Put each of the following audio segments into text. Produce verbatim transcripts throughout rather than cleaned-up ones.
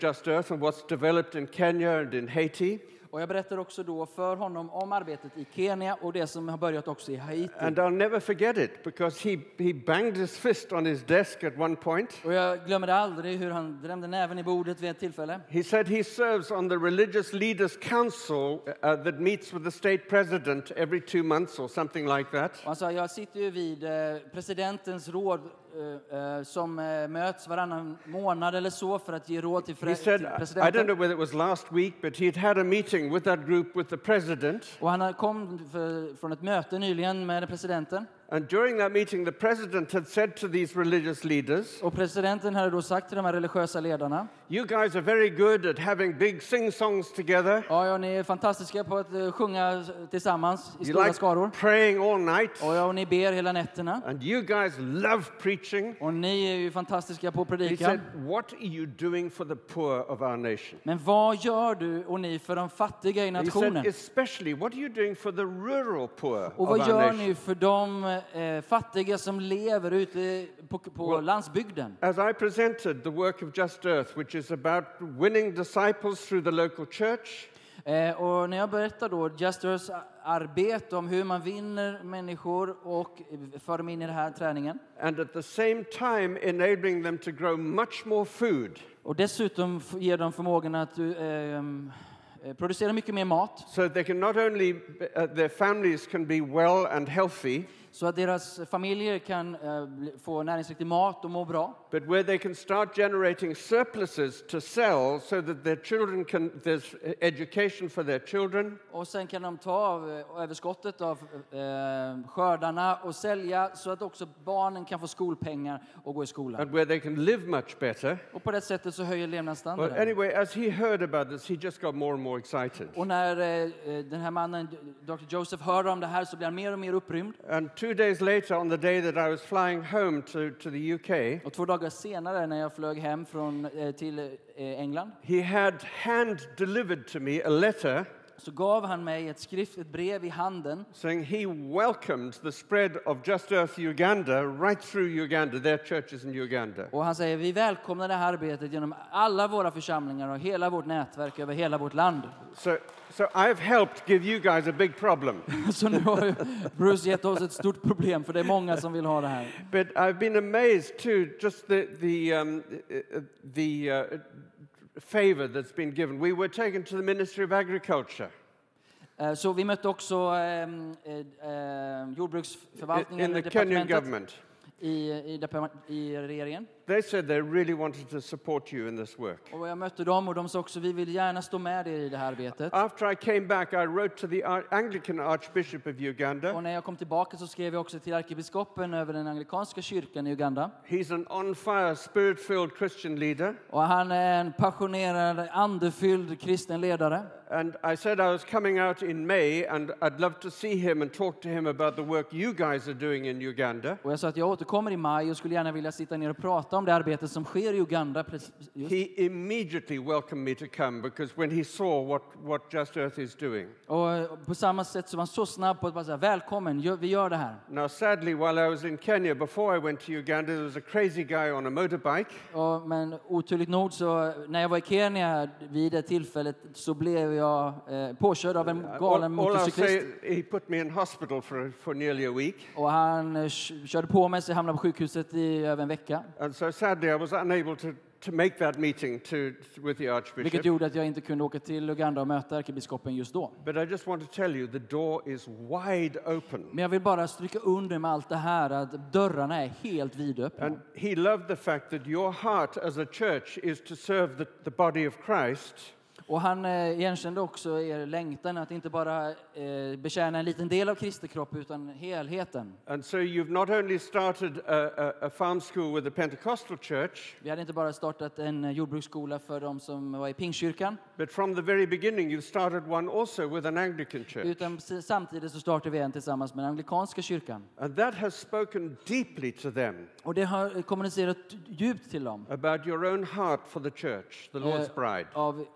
Just Earth and what's developed in Kenya and in Haiti. Och jag berättar också då för honom om arbetet i Kenya och det som har börjat också i Haiti. And I'll never forget it because he, he banged his fist on his desk at one point. Och jag glömmer aldrig hur han drämde näven i bordet vid ett tillfälle. He said he serves on the Religious Leaders Council uh, that meets with the state president every two months or something like that. Och han sa, jag sitter ju vid eh, presidentens råd eh, eh, som eh, möts varannan månad eller så för att ge råd till, He fre- said, till I don't presidenten. know whether it was last week, but he'd had a meeting with that group with the president. Och han kom för, från ett möte nyligen med presidenten. And during that meeting, the president had said to these religious leaders, Och presidenten hade då sagt till de här religiösa ledarna, you guys are very good at having big sing-songs together. ja, ja, ni är fantastiska på att uh, sjunga tillsammans i You stora like skaror. praying all night. Och, ja, och ni ber hela nätterna. And you guys love preaching. Och ni är ju fantastiska på att He predika. said, what are you doing for the poor of our nation? Men vad gör du och ni för de fattiga i He said, nationen? especially, what are you doing for the rural poor Och of vad our gör nation? ni för de eh, fattiga som lever ute på, på Well, landsbygden? As I presented the work of Just Earth, which is about winning disciples through the local church, Eh, och när jag berättar då Just Earths arbete om hur man vinner människor och för dem in i den här träningen. and at the same time enabling them to grow much more food, Och dessutom f- ger dem förmågan att eh, eh, producera mycket mer mat. so they can not only, uh, their families can be well and healthy, Så att deras familjer kan eh, bli- få näringsriktig mat och må bra. but where they can start generating surpluses to sell so that their children can, there's education for their children, Och sen kan de ta av eh, överskottet av eh, skördarna och sälja så att också barnen kan få skolpengar och gå i skolan. and where they can live much better. Och på det sättet så höjer Well, levnadsstandarden. anyway, as he heard about this, he just got more and more excited. Och när eh, den här mannen, doktor Joseph, hör om det här så blir han mer och mer upprymd. And two days later, on the day that I was flying home to, to the U K, Och två dagar senare när jag flög hem från, eh, till eh, England he had hand-delivered to me a letter så gav han mig ett skrift, ett brev i handen saying he welcomed the spread of Just Earth Uganda right through Uganda, their churches in Uganda. och han säger vi välkomnar det här arbetet genom alla våra församlingar och hela vårt nätverk över hela vårt land. So, so I've helped give you guys a big problem. Så nu har ju Bruce gett oss ett stort problem för det är många som vill ha det här. But I've been amazed too, just the, the, um, uh, the uh, favor that's been given. We were taken to the Ministry of Agriculture. Eh, Så vi mötte också ehm, eh, eh, In, jordbruksförvaltningen in i the Kenyan departementet government. i, i, departement- i regeringen. They said they really wanted to support you in this work. Och jag mötte dem och de sa också vi vill gärna stå med er i det här arbetet. After I came back, I wrote to the Ar- Anglican Archbishop of Och Uganda. när jag kom tillbaka så skrev jag också till ärkebiskopen över den anglikanska kyrkan i Uganda. He's an on-fire, spirit-filled Christian leader. Och han är en passionerad, andefylld kristen ledare. And I said I was coming out in May, and I'd love to see him and talk to him about the work you guys are doing in Uganda. Och jag sa att jag återkommer i maj och skulle gärna vilja sitta ner och prata om det arbete som sker i Uganda. precis- just. He immediately welcomed me to come because when he saw what, what Just Earth is doing. Och på samma sätt så var han så snabb på att bara säga välkommen, gör- vi gör det här. Now, sadly, while I was in Kenya, before I went to Uganda, there was a crazy guy on a motorbike. Och, men oturligt nog så när jag var i Kenya vid det tillfället så blev jag eh, påkörd av en galen All, all I'll say, motorcyklist. he put me in hospital for, for nearly a week. Och han eh, k- körde på mig så jag hamnade på sjukhuset i över en vecka. And so sadly, I was unable to, to make that meeting to, with the Vilket Archbishop. gjorde att jag inte kunde åka till Uganda och möta ärkebiskopen just då. But I just want to tell you, the door is wide open. Men jag vill bara stryka under med allt det här att dörrarna är helt vidöppna. And he loved the fact that your heart as a church is to serve the, the body of Christ. Och han eh, igenkände också er längtan att inte bara eh, betjäna en liten del av Kristi kropp utan helheten. And so you've not only started a, a, a farm school with the Pentecostal church, Vi hade inte bara startat en eh, jordbruksskola för de som var i Pingstkyrkan, but from the very beginning you've started one also with an Anglican church. utan precis samtidigt så startade vi en tillsammans med den anglikanska kyrkan. And that has spoken deeply to them Och det har kommunicerat djupt till dem. about your own heart for the church, the Lord's Eh, bride. av eh,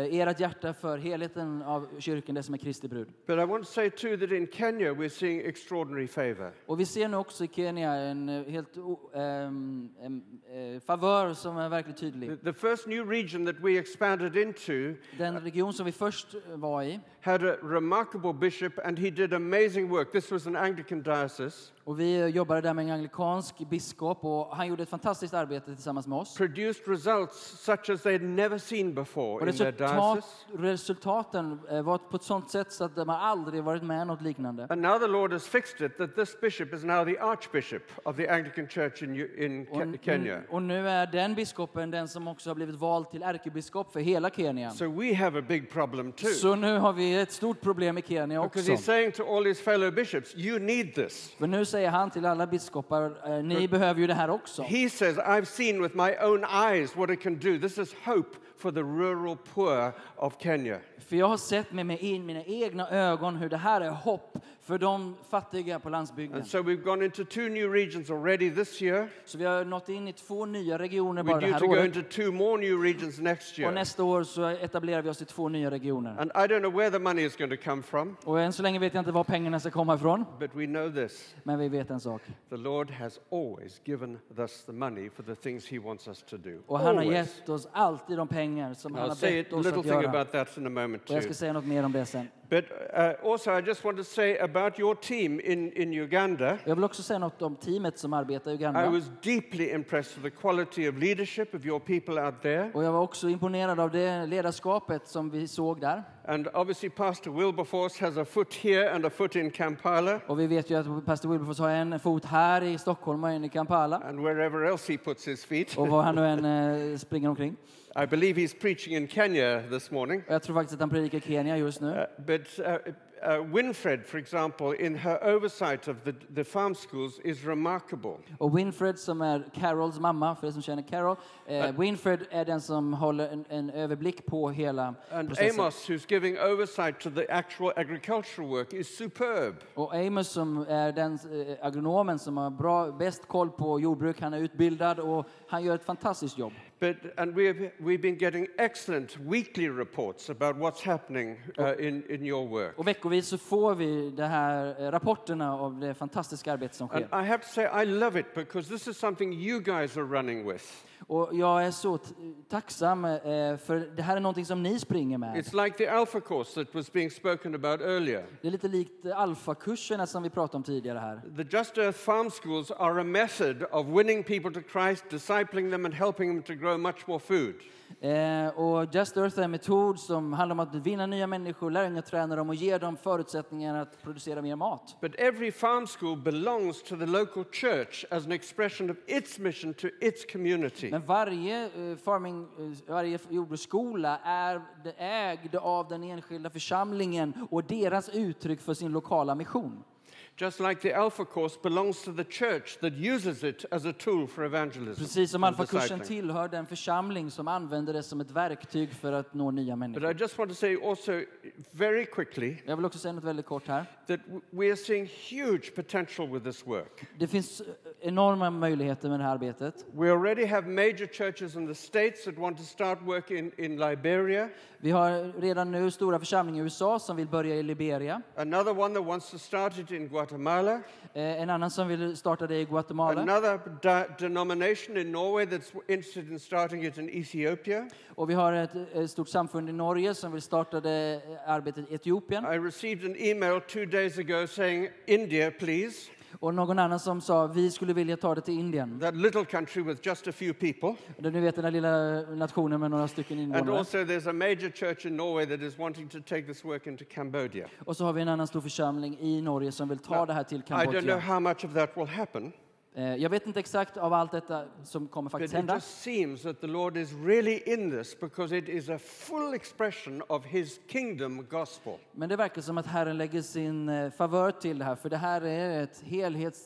ert hjärta för helheten av kyrkan, det som är Kristi brud. But I want to say too that in Kenya we're seeing extraordinary favor. Och vi ser nu också i Kenya en eh, helt o- ehm, em, eh, favör som är verkligen tydlig. The, the first new region that we expanded into Den region som vi först var i, had a remarkable bishop and he did amazing work. This was an Anglican diocese. och vi jobbade där med en anglikansk biskop och han gjorde ett fantastiskt arbete tillsammans med oss. Produced results such as they'd never seen before Och in their resultat, diocese. resultaten eh, var på ett sånt sätt så att de har aldrig varit med något liknande. And now the Lord has fixed it that this bishop is now the archbishop of the Anglican church in, U- in Och, Ke- Kenya. och nu är den biskopen den som också har blivit vald till ärkebiskop för hela Kenya. So we have a big problem too. Så nu har vi ett stort problem i Kenya Because också. he's saying to all his fellow bishops, you need this. För nu säger han till alla biskopar, eh, ni behöver ju det här också. He says, I've seen with my own eyes what it can do. This is hope for the rural poor of Kenya. För jag har sett med mig in mina egna ögon hur det här är hopp för de fattiga på landsbygden. And so we've gone into two new regions already this year. Så vi har nått in i två nya regioner We're bara det due här to go året. into two more new regions next Och year. nästa år så etablerar vi oss i två nya regioner. And I don't know where the money is going to come from, Och än så länge vet jag inte var pengarna ska komma ifrån. but we know this. Men vi vet en sak. The Lord has always given us the money for the things he wants us to do. Och han har Always. gett oss alltid de pengar som han I'll har say bett a oss little att thing göra. about that in a moment Och jag too. ska säga något mer om det sen. But uh, also, I just want to say about your team in, in Uganda. Jag vill också säga något om teamet som arbetar i I Uganda. was deeply impressed with the quality of leadership of your people out there. Och jag var också imponerad av det ledarskapet som vi såg där. And obviously, Pastor Wilberforce has a foot here and a foot in Kampala, Och vi vet ju att pastor Wilberforce har en fot här i Stockholm och en i Kampala. and wherever else he puts his feet. Och var han nu än eh, springer omkring. I believe he's preaching in Kenya this morning. Och jag tror faktiskt att han predikar i Kenya just nu. Uh, but uh, uh, Winfred, for example, in her oversight of the, the farm schools is remarkable. Och Winfred som är Carols mamma, för er som känner Carol. Eh, Winfred är den som håller en, en överblick på hela And processen. Amos, who's giving oversight to the actual agricultural work, is superb. Och Amos som är den eh, agronomen som har bra, bäst koll på jordbruk. Han är utbildad och han gör ett fantastiskt jobb. But, and we've, we've been getting excellent weekly reports about what's happening uh, in, in your work. Och veckovis så får vi de här eh, rapporterna av det fantastiska arbete som And sker. I have to say, I love it because this is something you guys are running with. Och jag är så t- tacksam eh, för det här är någonting som ni springer med. It's like the Alpha course that was being spoken about earlier. Det är lite likt eh, alfakurserna som vi pratade om tidigare här. The Just Earth Farm Schools are a method of winning people to Christ, discipling them and helping them to grow much more food. Eh, och Just Earth är en metod som handlar om att vinna nya människor, lära unga träna dem och ge dem förutsättningar att producera mer mat. But every farm school belongs to the local church as an expression of its mission to its community. Men varje eh, farming, eh, varje jordbruksskola är det ägd av den enskilda församlingen och deras uttryck för sin lokala mission. Just like the Alpha course belongs to the church that uses it as a tool for evangelism. Precis som and alfakursen discipling. tillhör den församling som använder det som ett verktyg för att nå nya But människor. I just want to say also very quickly Jag vill också säga något väldigt kort här. that w- we are seeing huge potential with this work. Det finns enorma möjligheter med det här arbetet. We already have major churches in the States that want to start work in, in Liberia. Vi har redan nu stora församlingar i U S A som vill börja i Liberia. Another one that wants to start it in Guatemala. Eh, En annan som vill starta det i Guatemala. Another de- denomination in Norway that's interested in starting it in Ethiopia. Och vi har ett, ett stort samfund i Norge som vill starta det arbetet i Etiopien. I received an email two days ago saying, India, please. Och någon annan som sa vi skulle vilja ta det till Indien. That little country with just a few people. Och ni vet den här lilla nationen med några stycken And invånare. also there's a major church in Norway that is wanting to take this work into Cambodia. Och så har vi en annan stor församling i Norge som vill ta Now, det här till I don't know Kambodja. how much of that will happen. Eh, Jag vet inte exakt av allt detta som kommer But faktiskt it hända. just seems that the Lord is really in this because it is a full expression of his kingdom gospel. Men det verkar som att Herren lägger sin eh, favör till det här. För det här är ett helhets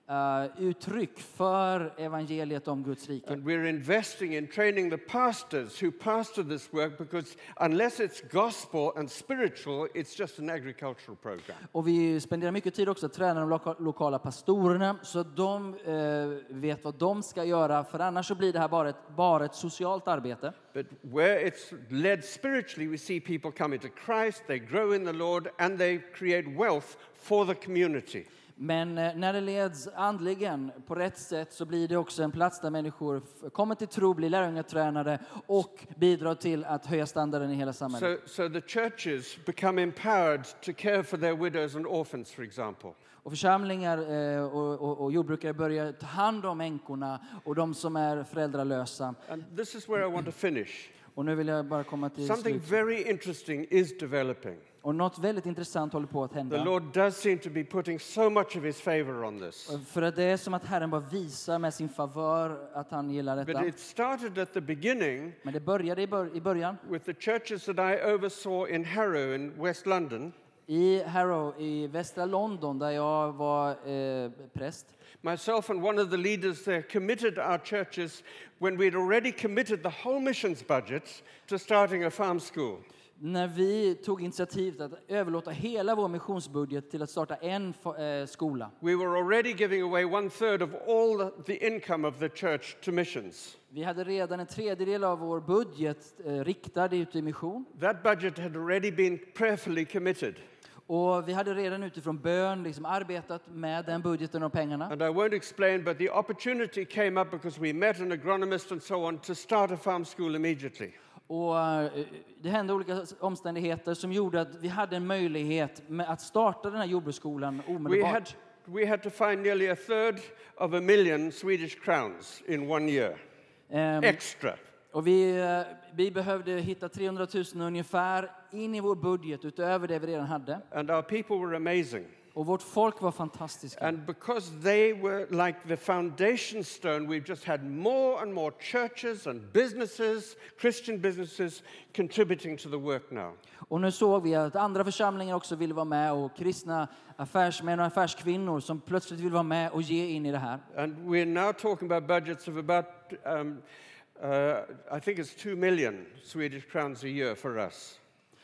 uh, uttryck för evangeliet om Guds rike. And we're investing in training the pastors who pastor this work, because unless it's gospel and spiritual, it's just an agricultural program. Och vi spenderar mycket tid också att träna de loka- lokala pastorerna så att de eh, vet vad de ska göra, för annars så blir det här bara ett, bara ett socialt arbete. But where it's led spiritually, we see people coming to Christ, they grow in the Lord, and they create wealth for the community. Men eh, när det leds andligen på rätt sätt så blir det också en plats där människor f- kommer till tro, blir lärjungatränade och bidrar till att höja standarden i hela samhället. So, so the churches become empowered to care for their widows and orphans, for example. Och församlingar eh, och, och, och jordbrukare börjar ta hand om änkorna och de som är föräldralösa. And this is where I want to finish. Och nu vill jag bara komma till Something slut. very interesting is developing. Och något väldigt intressant håller på att The hända. Lord does seem to be putting so much of his favor on this. För att det är som att Herren bara visar med sin favör att han gillar But detta. it started at the beginning Men det började i, bör- i början with the churches that I oversaw in Harrow in West London. i Harrow i västra London där jag var eh, präst. Myself and one of the leaders there committed our churches when we'd already committed the whole missions budget to starting a farm school. När vi tog initiativ till att överlåta hela vår missionsbudget till att starta en eh, skola. We were already giving away one third of all the income of the church to missions. Vi hade redan en tredjedel av vår budget eh, riktad ut i mission. That budget had already been prayerfully committed. Och vi hade redan utifrån bön liksom arbetat med den budgeten och pengarna. And I won't explain, but the opportunity came up because we met an agronomist and so on to start a farm school immediately. Och eh, det hände olika omständigheter som gjorde att vi hade en möjlighet med att starta den här jordbruksskolan We omedelbart. had, we had to find nearly a third of a million Swedish crowns in one year, Ehm, extra. och vi, eh, vi behövde hitta trehundratusen ungefär in i vår budget utöver det vi redan hade. And our people were amazing. Och vårt folk var fantastiska. And because they were like the foundation stone, we've just had more and more churches and businesses, Christian businesses, contributing to the work now. Och nu såg vi att andra församlingar också ville vara med och kristna affärsmän och affärskvinnor som plötsligt vill vara med och ge in i det här. And we're now talking about budgets of about, um, uh, I think it's two million Swedish crowns a year for us.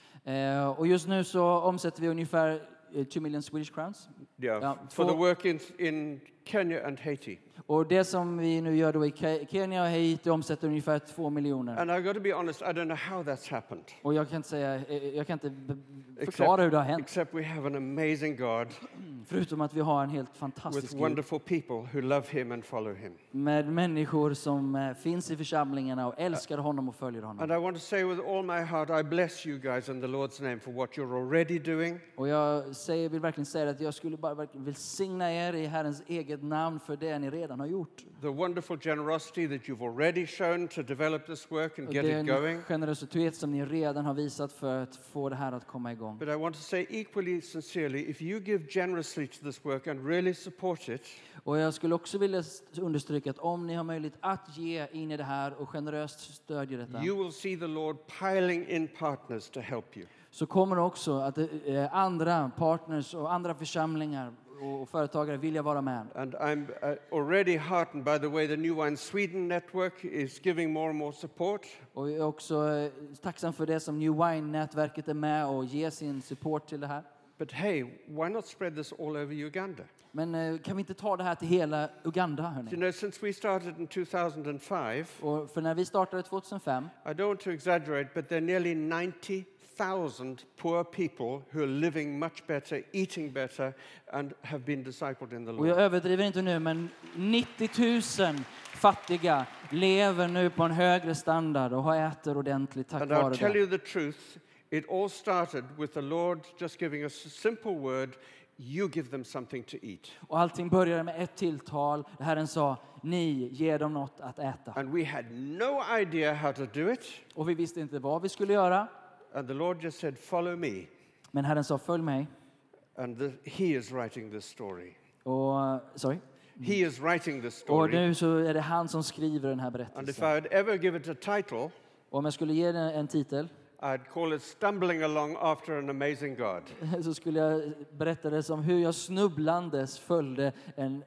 Eh, och just nu så omsätter vi ungefär eh, two million Swedish crowns. Yeah, Ja, for the två- work in, in Kenya and Haiti. Och det som vi nu gör då i Ke- Kenya och Haiti omsätter ungefär två miljoner. And I've got to be honest, I don't know how that's happened. Och jag kan inte säga, eh, jag kan inte b- förklara hur det har hänt. except we have an amazing God Förutom att vi har en helt with fantastisk Gud. wonderful people who love him and follow him. Med människor som eh, finns i församlingarna och älskar honom och följer honom. And I want to say with all my heart, I bless you guys in the Lord's name for what you're already doing. Och jag säger, vill verkligen säga att jag skulle bara verkligen välsigna er i Herrens eget namn för det ni redan har gjort. The wonderful generosity that you've already shown to develop this work and Och get it den going. generositet som ni redan har visat för att få det här att komma igång. But I want to say equally sincerely, if you give generously to this work and really support it, Och jag skulle också vilja s- understryka att om ni har möjlighet att ge in i det här och generöst stödja detta, you will see the Lord piling in partners to help you. så kommer också att eh, andra partners och andra församlingar och, och företagare vilja vara med. And I'm uh, already heartened by the way the New Wine Sweden network is giving more and more support. Och jag är också eh, tacksam för det som New Wine-nätverket är med och ger sin support till det här. But hey, why not spread this all over Uganda? Men eh, kan vi inte ta det här till hela Uganda, You hörni? know, since we started in two thousand five, Och för när vi startade tjugohundrafem, I don't want to exaggerate, but there are nearly ninety thousand poor people who are living much better, eating better, and have been discipled in the och jag Lord. överdriver inte nu, men nittio tusen fattiga lever nu på en högre standard och har äter ordentligt tack And I'll vare tell det. you the truth, it all started with the Lord just giving us a simple word, you give them something to eat. Och allting började med ett tilltal. Herren sa, ni ger dem något att äta. And we had no idea how to do it, Och vi visste inte vad vi skulle göra. and the Lord just said, follow me. Men Herren sa, följ mig. And the, he is writing this story. Och, sorry. He is writing this Och story. nu så är det han som skriver den här And if I berättelsen. would ever give it a title, Och om jag skulle ge den en titel I'd call it Stumbling Along After an Amazing God. så skulle jag berätta det som hur jag snubblandes följde en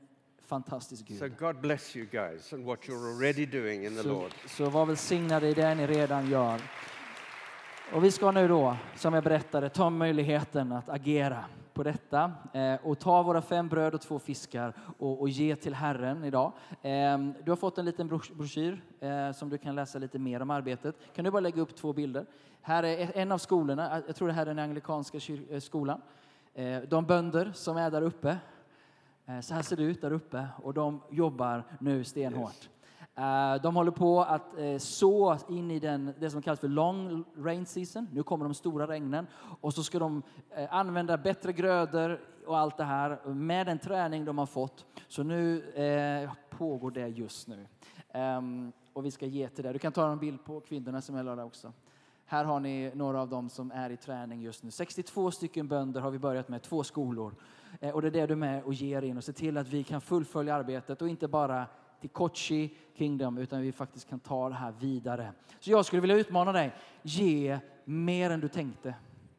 fantastisk Gud. So God bless you guys and what you're already doing in the Så, Lord. så var välsignade i det ni redan gör. Och vi ska nu då, som jag berättade, ta möjligheten att agera på detta eh, och ta våra fem bröd och två fiskar och, och ge till Herren idag. Eh, du har fått en liten broschyr eh, som du kan läsa lite mer om arbetet. Kan du bara lägga upp två bilder? Här är en av skolorna, jag tror det här är den anglikanska kyr- skolan. Eh, de bönder som är där uppe, eh, så här ser det ut där uppe, och de jobbar nu stenhårt. Yes. Uh, de håller på att uh, så in i den, det som kallas för long rain season. Nu kommer de stora regnen. Och så ska de uh, använda bättre grödor och allt det här med den träning de har fått. Så nu uh, pågår det just nu. Um, och vi ska ge till det. Du kan ta en bild på kvinnorna som jag la där också. Här har ni några av dem som är i träning just nu. sextiotvå stycken bönder har vi börjat med, två skolor. Uh, och det är det du är med och ger in och ser till att vi kan fullfölja arbetet och inte bara till Kochi Kingdom, utan vi faktiskt kan ta det här vidare. Så jag skulle vilja utmana dig. Ge mer än du tänkte.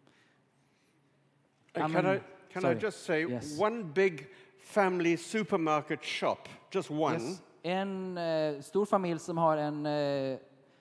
Can I, can I just say yes. One big family supermarket shop, just one. Yes. En uh, stor familj som har en uh,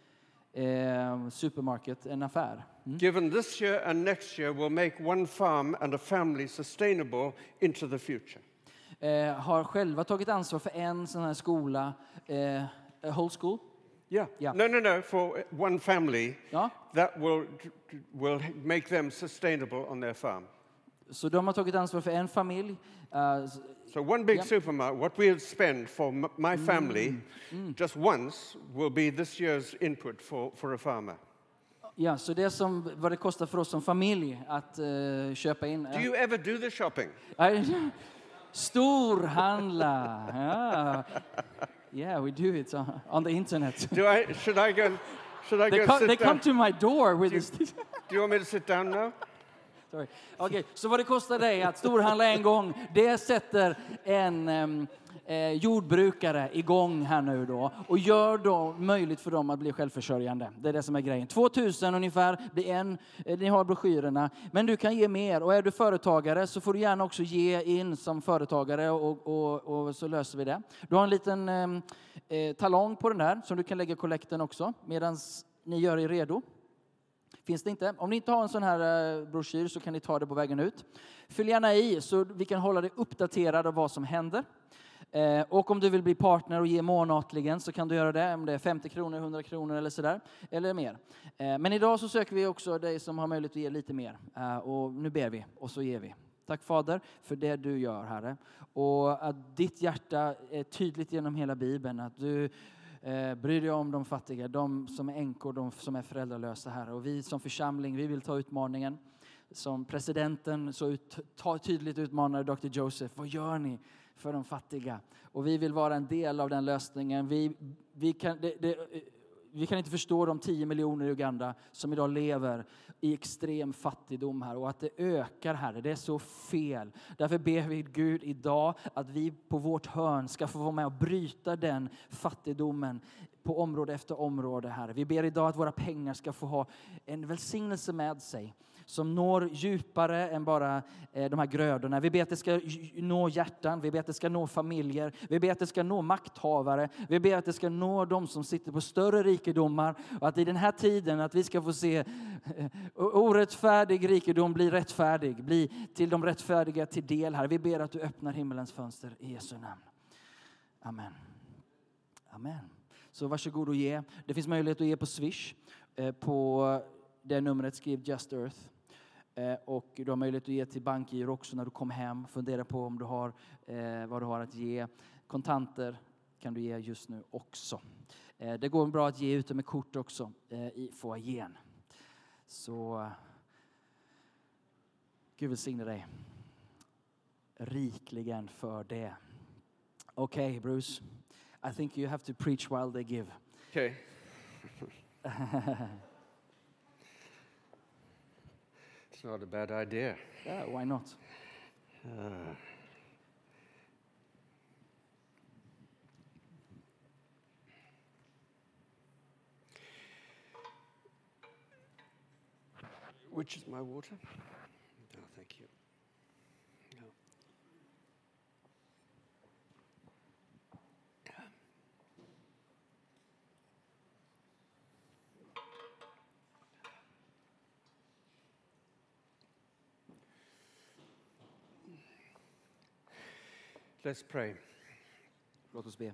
uh, supermarket, en affär. Mm. Given this year and next year will make one farm and a family sustainable into the future. Eh, har själva tagit ansvar för en sån här skola, eh, a whole school. Yeah. yeah. No, no, no. For one family, ja. That will will make them sustainable on their farm. Så de har tagit ansvar för en familj. Uh, so one big yeah. supermarket, what we spend for m- my family, mm. Mm. just once, will be this year's input for for a farmer. Ja, så det som vad det kostar för oss som familj att uh, köpa in. Uh, do you ever do the shopping? I, Storhandla. Yeah. Yeah, we do it on, on the internet. Do I should I go should I they go come, sit They down? come to my door with do, this. Do you want me to sit down now? Sorry. Okay, så vad det kostar dig att storhandla en gång, det sätter en um, eh, jordbrukare igång här nu då och gör då möjligt för dem att bli självförsörjande. Det är det som är grejen. tvåtusen ungefär blir en, eh, ni har broschyrerna, men du kan ge mer, och är du företagare så får du gärna också ge in som företagare och, och, och så löser vi det. Du har en liten eh, talong på den där som du kan lägga kollekten också medan ni gör er redo. Finns det inte? Om ni inte har en sån här eh, broschyr så kan ni ta det på vägen ut. Fyll gärna i så vi kan hålla dig uppdaterad av vad som händer. Eh, och om du vill bli partner och ge månatligen så kan du göra det. Om det är femtio kronor, hundra kronor eller sådär. Eller mer. Eh, men idag så söker vi också dig som har möjlighet att ge lite mer. Eh, och nu ber vi och så ger vi. Tack Fader för det du gör, Herre. Och att ditt hjärta är tydligt genom hela Bibeln. Att du eh, bryr dig om de fattiga, de som är änkor, de som är föräldralösa, Herre. Och vi som församling, vi vill ta utmaningen. Som presidenten så ut, ta, tydligt utmanade doktor Joseph. Vad gör ni för de fattiga? Och vi vill vara en del av den lösningen. Vi, vi, kan, det, det, vi kan inte förstå de tio miljoner i Uganda som idag lever i extrem fattigdom här. Och att det ökar här. Det är så fel. Därför ber vi Gud idag att vi på vårt hörn ska få vara med och bryta den fattigdomen på område efter område här. Vi ber idag att våra pengar ska få ha en välsignelse med sig som når djupare än bara eh, de här grödorna. Vi ber att det ska nå hjärtan, vi ber att det ska nå familjer, vi ber att det ska nå makthavare, vi ber att det ska nå de som sitter på större rikedomar, och att i den här tiden att vi ska få se eh, orättfärdig rikedom bli rättfärdig, bli till de rättfärdiga till del här. Vi ber att du öppnar himmelens fönster i Jesu namn. Amen. Amen. Så varsågod och ge. Det finns möjlighet att ge på Swish eh, på det numret, skriv Just Earth. Eh, och du har möjlighet att ge till bankgiro också när du kommer hem. Fundera på om du har eh, vad du har att ge. Kontanter kan du ge just nu också. Eh, det går bra att ge ute med kort också eh, i foajén. Så Gud välsigne dig rikligen för det. Okej, okay, Bruce. I think you have to preach while they give. Okay. It's not a bad idea. Yeah, why not? Uh, which is my water? No, thank you. No. Let's pray. Låt oss be.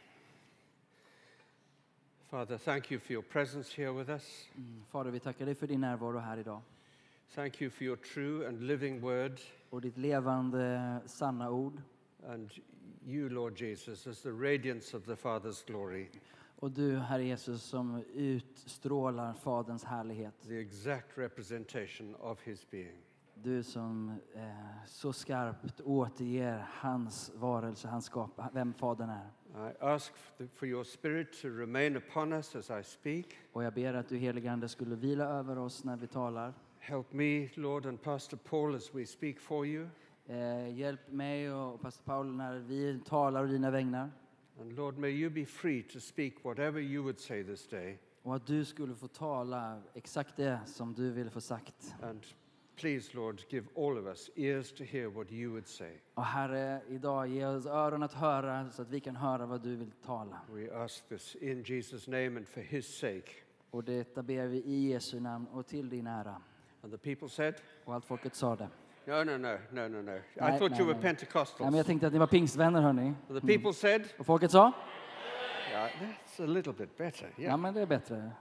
Father, thank you for your presence here with us. Mm, Fader, vi tackar dig för din närvaro här idag. Thank you for your true and living word. Och ditt levande, sanna ord. And you, Lord Jesus, as the radiance of the Father's glory. Och du, Herre Jesus, som utstrålar Faderns härlighet. The exact representation of his being. Du som eh, så skarpt återger hans varelse, hans skap, vem Fadern är. I ask for your spirit to remain upon us as I speak. Och jag ber att du, helige Ande, skulle vila över oss när vi talar. Help me, Lord, and Pastor Paul as we speak for you. Eh, hjälp mig och pastor Paul när vi talar och dina vägnar. And Lord, may you be free to speak whatever you would say this day. Och att du skulle få tala exakt det som du vill få sagt. And please, Lord, give all of us ears to hear what you would say. Och Herre, idag ge oss öron att höra så att vi kan höra vad du vill tala. We ask this in Jesus' name and for his sake. Och detta ber vi i Jesu namn och till din ära. And the people said, Och allt folket sa det. no, no, no, no, no, no. I Nej, thought nej, you were nej. Pentecostals. Ja, men jag tänkte att ni var pingstvänner, hörni. The people said, Och folket sa? yeah, that's a little bit better. Ja, Yeah. men det är bättre.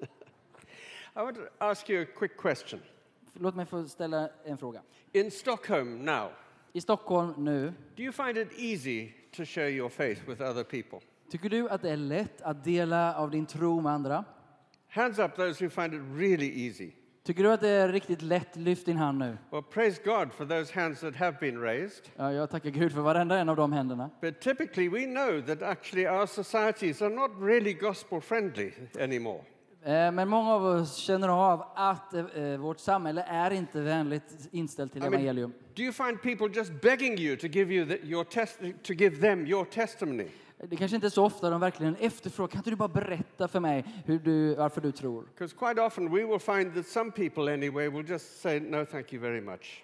I want to ask you a quick question. Låt mig få ställa en fråga. In Stockholm now, I Stockholm nu, do you find it easy to share your faith with other people? tycker du att det är lätt att dela av din tro med andra? Hands up those who find it really easy. Tycker du att det är riktigt lätt? Lyft din hand nu. Well, praise God for those hands that have been raised. Ja, jag tackar Gud för varenda en av de händerna. But typically we know that actually our societies are not really gospel friendly anymore. Eh, Men många av oss känner av att eh, vårt samhälle är inte vänligt inställt till I mean, evangelium. do you find people just begging you to give you the, your test to give them your testimony? Det kanske inte är så ofta de verkligen efterfrågar. Kan inte du bara berätta för mig hur du, varför du tror? Because quite often we will find that some people anyway will just say no thank you very much.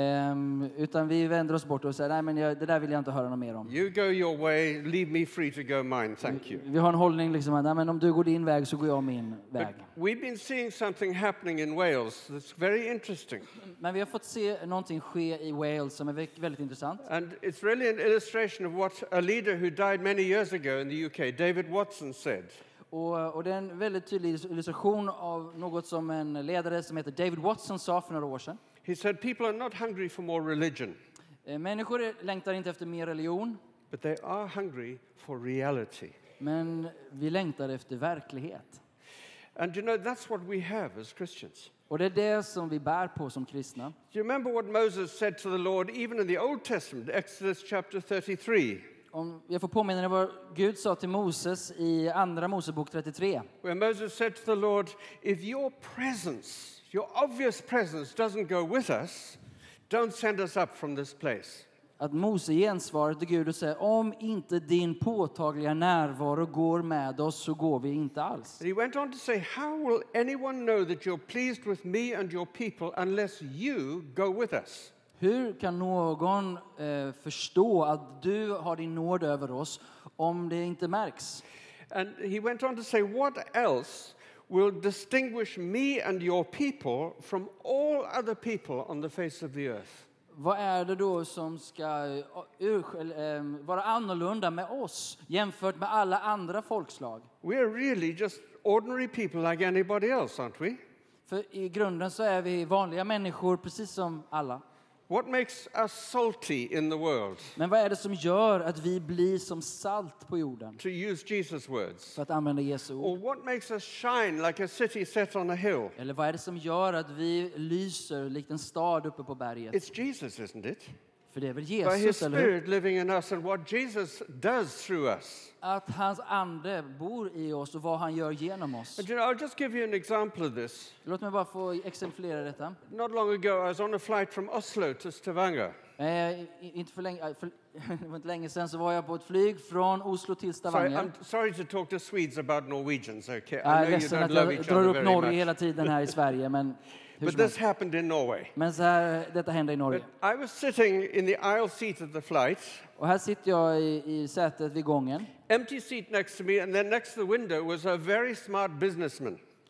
Um, utan vi vänder oss bort och säger nej, men jag, det där vill jag inte höra något mer om. You go your way, leave me free to go mine, thank you. Vi har en hållning liksom att nej, men om du går din väg så går jag min But väg. we've been seeing something happening in Wales that's very interesting. Men vi har fått se någonting ske i Wales som är vä- väldigt intressant. And it's really an illustration of what a leader who died many years ago in the U K, David Watson, said. Och, och det är en väldigt tydlig illustration av något som en ledare som heter David Watson sa för några år sedan. He said people are not hungry for more religion, Eh, Människor längtar inte efter mer religion, but they are hungry for reality. men vi längtar efter verklighet. And you know, that's what we have as Christians. Och det är det som vi bär på som kristna. Do you remember what Moses said to the Lord, even in the Old Testament, Exodus chapter thirty-three, Om jag får påminna dig vad Gud sa till Moses i Andra Mosebok trettiotre. where Moses said to the Lord, if your presence, your obvious presence doesn't go with us, don't send us up from this place. Att Mose gensvarar till Gud och säger om inte din påtagliga närvaro går med oss så går vi inte alls. And he went on to say, how will anyone know that you're pleased with me and your people unless you go with us? Hur kan någon eh, förstå att du har din nåd över oss om det inte märks? And he went on to say, what else will distinguish me and your people from all other people on the face of the earth? Vad är det då som ska uh, urskil, eh, vara annorlunda med oss jämfört med alla andra folkslag? We are really just ordinary people like anybody else, aren't we? För i grunden så är vi vanliga människor precis som alla. What makes us salty in the world? Men vad är det som gör att vi blir som salt på jorden? To use Jesus' words. För att använda Jesu ord. Or what makes us shine like a city set on a hill? Eller vad är det som gör att vi lyser likt en stad uppe på berget? It's Jesus, isn't it? För det är väl By his Jesus, eller hur? Spirit living in us and what Jesus does through us. Att hans ande bor i oss och vad han gör genom oss. And you know, I'll just give you an example of this. Låt mig bara få exemplifiera detta. Not long ago, I was on a flight from Oslo to Stavanger. Eh, inte för länge, eh, för, det var inte länge sedan så var jag på ett flyg från Oslo till Sorry, Stavanger. I'm sorry to talk to Swedes about Norwegians, okay? I Jag know är you ledsen don't att love jag each drar other upp very Norge much. hela tiden här i Sverige, men hur But som this helst. happened in Norway. Men så här, detta hände i Norge. But I was sitting in the aisle seat of the flight, Och här sitter jag i, i sätet vid gången. empty seat next to me, and then next to the window was a very smart businessman.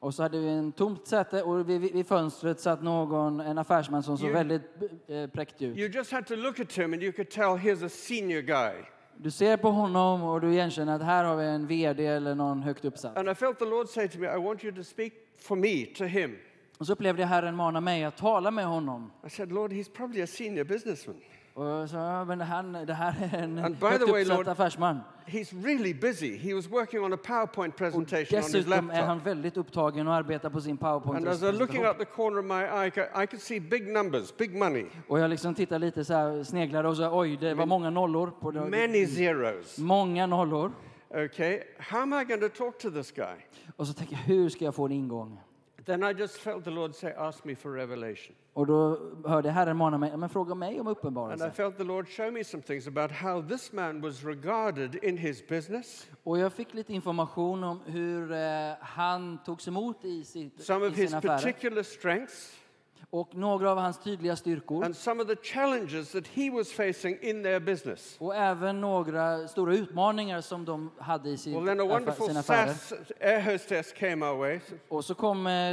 Och så hade vi en tomt säte och vid, vid fönstret satt någon, en affärsman som såg You- väldigt eh, präktig ut. You just had to look at him and you could tell here's a senior guy. Du ser på honom och du igenkänner att här har vi en vd eller någon högt uppsatt. And I felt the Lord say to me, I want you to speak for me to him. Och så upplevde jag Herren mana mig att tala med honom. I said, Lord, he's probably a senior businessman. Och jag sa, ja, men han, det här är en And by högt the way, uppsatt Lord, affärsman. He's really busy. He was working on a PowerPoint Och presentation on his dessutom är han laptop. väldigt upptagen och arbetar på sin And as I was looking PowerPoint-presentation. out the corner of my eye, I could- I could see big numbers, big money, Och jag liksom tittar lite så här, sneglade och så oj, det var många nollor. På det. many zeros. Många nollor. Okay, how am I going to talk to this guy? Och så tänker jag, hur ska jag få en ingång? Then I just felt the Lord say, ask me for revelation. Och då hörde jag Herren mana mig, "Ja, men fråga mig om And I uppenbarelse." felt the Lord show me some things about how this man was regarded in his business, Och jag fick lite information om hur eh, han togs emot i, sitt, some i of his sina affärer. particular strengths, Och några av hans tydliga styrkor. and some of the challenges that he was facing in their business. Och även några stora utmaningar som de hade i sin, Well, then a affär, wonderful sina affärer. S A S air hostess came our way, Och så kom eh,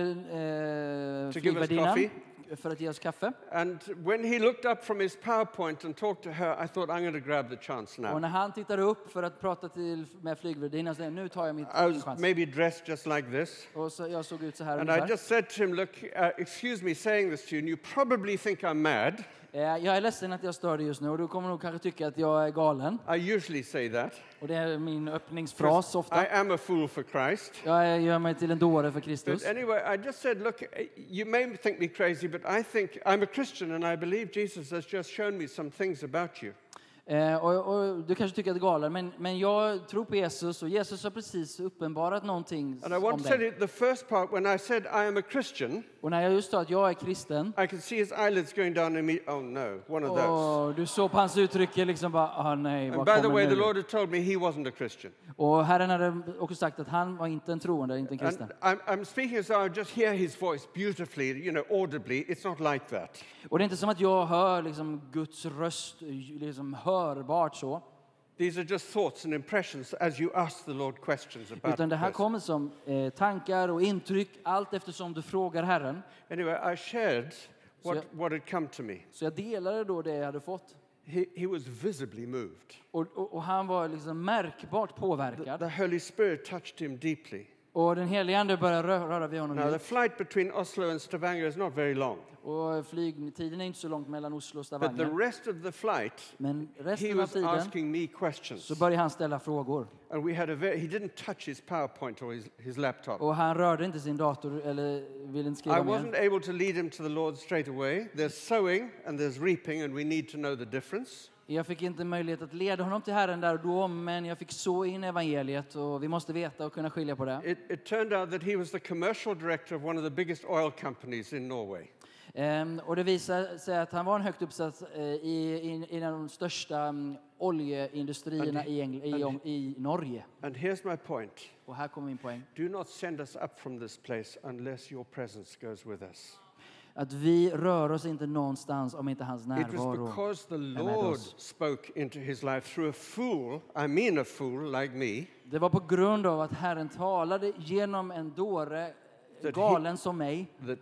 eh, To give us flygvärdinnan coffee. för att ge oss kaffe. and when he looked up from his PowerPoint and talked to her, I thought, I'm going to grab the chance Och now. när han tittade upp för att prata till, med flygvärdinnan så sa jag, nu tar jag mitt, I min was chans. maybe dressed just like this. Och så, jag såg ut så här And I ungefär. just said to him, look, uh, excuse me saying this to you, and you probably think I'm mad. Eh, Jag är ledsen att jag stör dig just nu och du kommer nog kanske tycka att jag är galen. I usually say that. Och det är min öppningsfras ofta. I am a fool for Christ. Jag gör mig till en dåre för But Kristus. anyway, I just said, look, you may think me crazy, but I think I'm a Christian and I believe Jesus has just shown me some things about you. Eh, och, och du kanske tycker att det är galen, men, men jag tror på Jesus och Jesus har precis uppenbarat någonting And I om want to say dig. it, the first part, when I said I am a Christian, Och när jag just sa att jag är kristen, I could see his eyelids going down and me, oh no, one of those. och du såg på hans uttryck liksom bara, ah nej, And vad by the kommer way, the nu? Lord had told me he wasn't a Christian. Och Herren hade också sagt att han var inte en troende, inte en kristen. And I'm, I'm speaking as though I just hear his voice beautifully, you know, audibly. It's not like that. Och det är inte som att jag hör liksom Guds röst liksom hörbart så, These are just thoughts and impressions as you ask the Lord questions about utan det the här person. kommer som eh, tankar och intryck allt eftersom du frågar Herren. Anyway, I shared what, So- what had come to me. Så jag delade då det jag hade fått. He, he was visibly moved. Och, och, och han var liksom märkbart The, påverkad. the Holy Spirit touched him deeply. Och den helige Ande började rö- röra vid honom Now, the djupt. flight between Oslo and Stavanger is not very long, Och flygtiden är inte så långt mellan Oslo och but the Stavanger. rest of the flight, Men he resten av was tiden asking me questions. så började han ställa frågor. And we had a very, he didn't touch his PowerPoint or his, his laptop. Och han rörde inte sin dator eller ville inte I skriva wasn't mer. able to lead him to the Lord straight away. There's sowing and there's reaping, and we need to know the difference. Jag fick inte möjlighet att leda honom till Herren där och då, men jag fick så in evangeliet och vi måste veta och kunna skilja på det. It, it turned out that he was the commercial director of one of the biggest oil companies in Norway. Ehm, och det visade sig att han var en högt uppsatt eh, i, i, i en av de största um, oljeindustrierna i, Engl- i, i Norge. And here's my point. Och här kommer min poäng. Do not send us up from this place unless your presence goes with us. Att vi rör oss inte någonstans om inte hans It was närvaro. because the med Lord oss. spoke into his life through a fool, I mean a fool like me, Det var på grund av att Herren talade genom en dåre, That galen som mig. that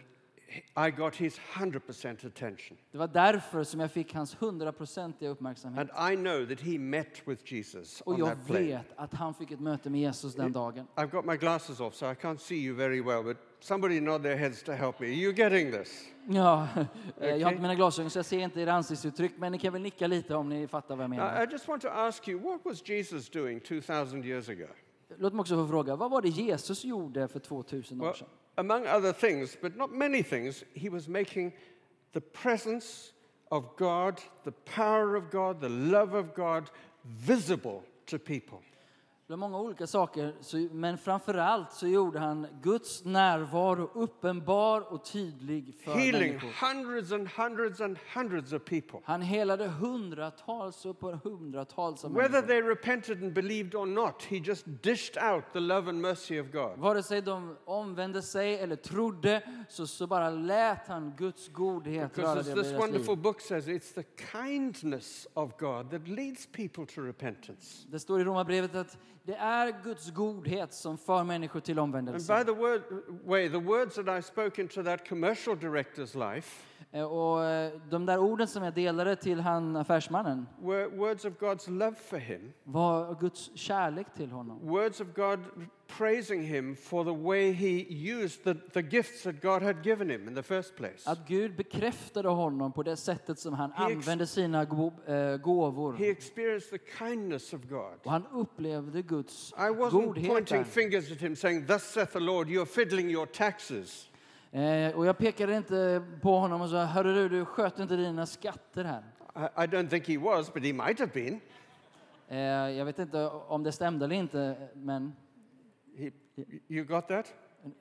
I got his one hundred percent attention. Det var därför som jag fick hans hundraprocentiga uppmärksamhet. And I know that he met with Jesus Och on jag that plane. vet att han fick ett möte med Jesus den dagen. I've got my glasses off, so I can't see you very well, but somebody nod their heads to help me. Are you getting this? Ja, eh, jag har Okay. inte mina glasögon så jag ser inte era ansiktsuttryck, men ni kan väl nicka lite om ni fattar vad jag Now, menar. I just want to ask you, what was Jesus doing two thousand years ago? Låt mig också få fråga, vad var det Jesus gjorde för tvåtusen år Well, sedan? among other things, but not many things, he was making the presence of God, the power of God, the love of God visible to people. Det var många olika saker, så, men framförallt så gjorde han Guds närvaro uppenbar och tydlig för Healing människor. hundreds and hundreds and hundreds of people. Han helade hundratals och på hundratals av Whether människor. they repented and believed or not, he just dished out the love and mercy of God. Vare sig de omvände sig eller trodde så, så bara lät han Guds godhet röra Because as det this deras wonderful liv. book says, it's the kindness of God that leads people to repentance. Det står i Romarbrevet att det är Guds godhet som för människor till And omvändelse. by the word, way, the words that I spoke into that commercial director's life Eh, Och eh, de där orden som jag delade till han affärsmannen were words of God's love for him, var Guds kärlek till honom. words of God praising him for the way he used the, the gifts that God had given him in the first place. Att Gud bekräftade honom på det sättet som han He ex- använde sina go- eh, gåvor. He experienced the kindness of God. Och han upplevde Guds I wasn't godhet pointing där. fingers at him saying, thus saith the Lord, you're fiddling your taxes. Eh, och jag pekade inte på honom och sa, hörru du, du sköter inte dina skatter här. I, I don't think he was, but he might have been. Eh, jag vet inte om det stämde eller inte, men He, you got that?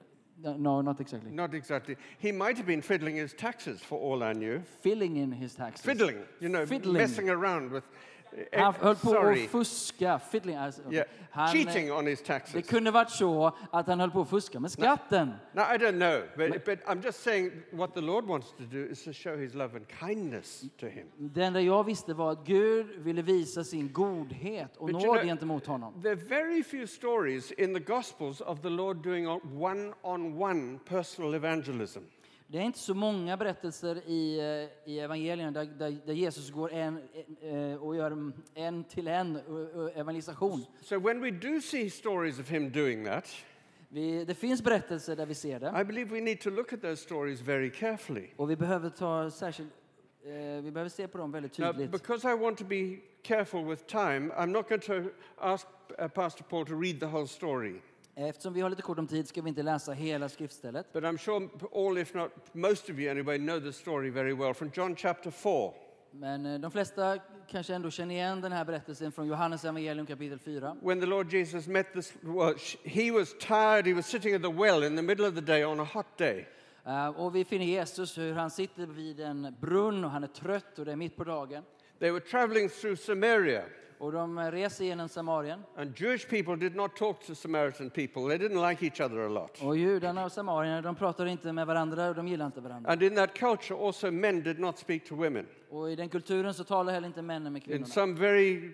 no, not exactly. Not exactly. He might have been fiddling his taxes for all I knew. Filling in his taxes. Fiddling, you know, Fiddling. messing around with. eh, Han höll på sorry. att fuska. Fiddling, alltså, Yeah. han, Cheating eh, on his det taxes. kunde varit så att han höll på att fuska med skatten. Now, I don't know, but, but I'm just saying what the Lord wants to do is to show his love and kindness to him. Det enda jag visste var att Gud ville visa sin godhet och But you nåd know, gentemot honom. There are very few stories in the Gospels of the Lord doing a one-on-one personal evangelism. Det är inte så många berättelser i, eh, i evangelierna där, där, där Jesus går en, eh, och gör en- en till en eh, evangelisation. So when we do see stories of him doing that, Vi, det finns berättelser där vi ser det. I believe we need to look at those stories very carefully. Och vi behöver ta särskilt, eh, vi behöver se på dem väldigt Now, tydligt. because I want to be careful with time, I'm not going to ask uh, Pastor Paul to read the whole story. Eftersom vi har lite kort om tid ska vi inte läsa hela skriftstället. But I'm sure all, if not most of you anyway, know the story very well from John chapter four. Men eh, de flesta kanske ändå känner igen den här berättelsen från Johannes evangelium kapitel fyra. When the Lord Jesus met this, well, sh- he was tired. He was sitting at the well in the middle of the day on a hot day. Eh, och vi finner Jesus hur han sitter vid en brunn och han är trött och det är mitt på dagen. They were traveling through Samaria, Och de eh, reser genom Samarien. and Jewish people did not talk to Samaritan people. They didn't like each other a lot. Och judarna och samarierna, de pratar inte med varandra och de gillar inte varandra. And in that culture, also men did not speak to women. Och i den kulturen så talar heller inte männen med In kvinnorna. some very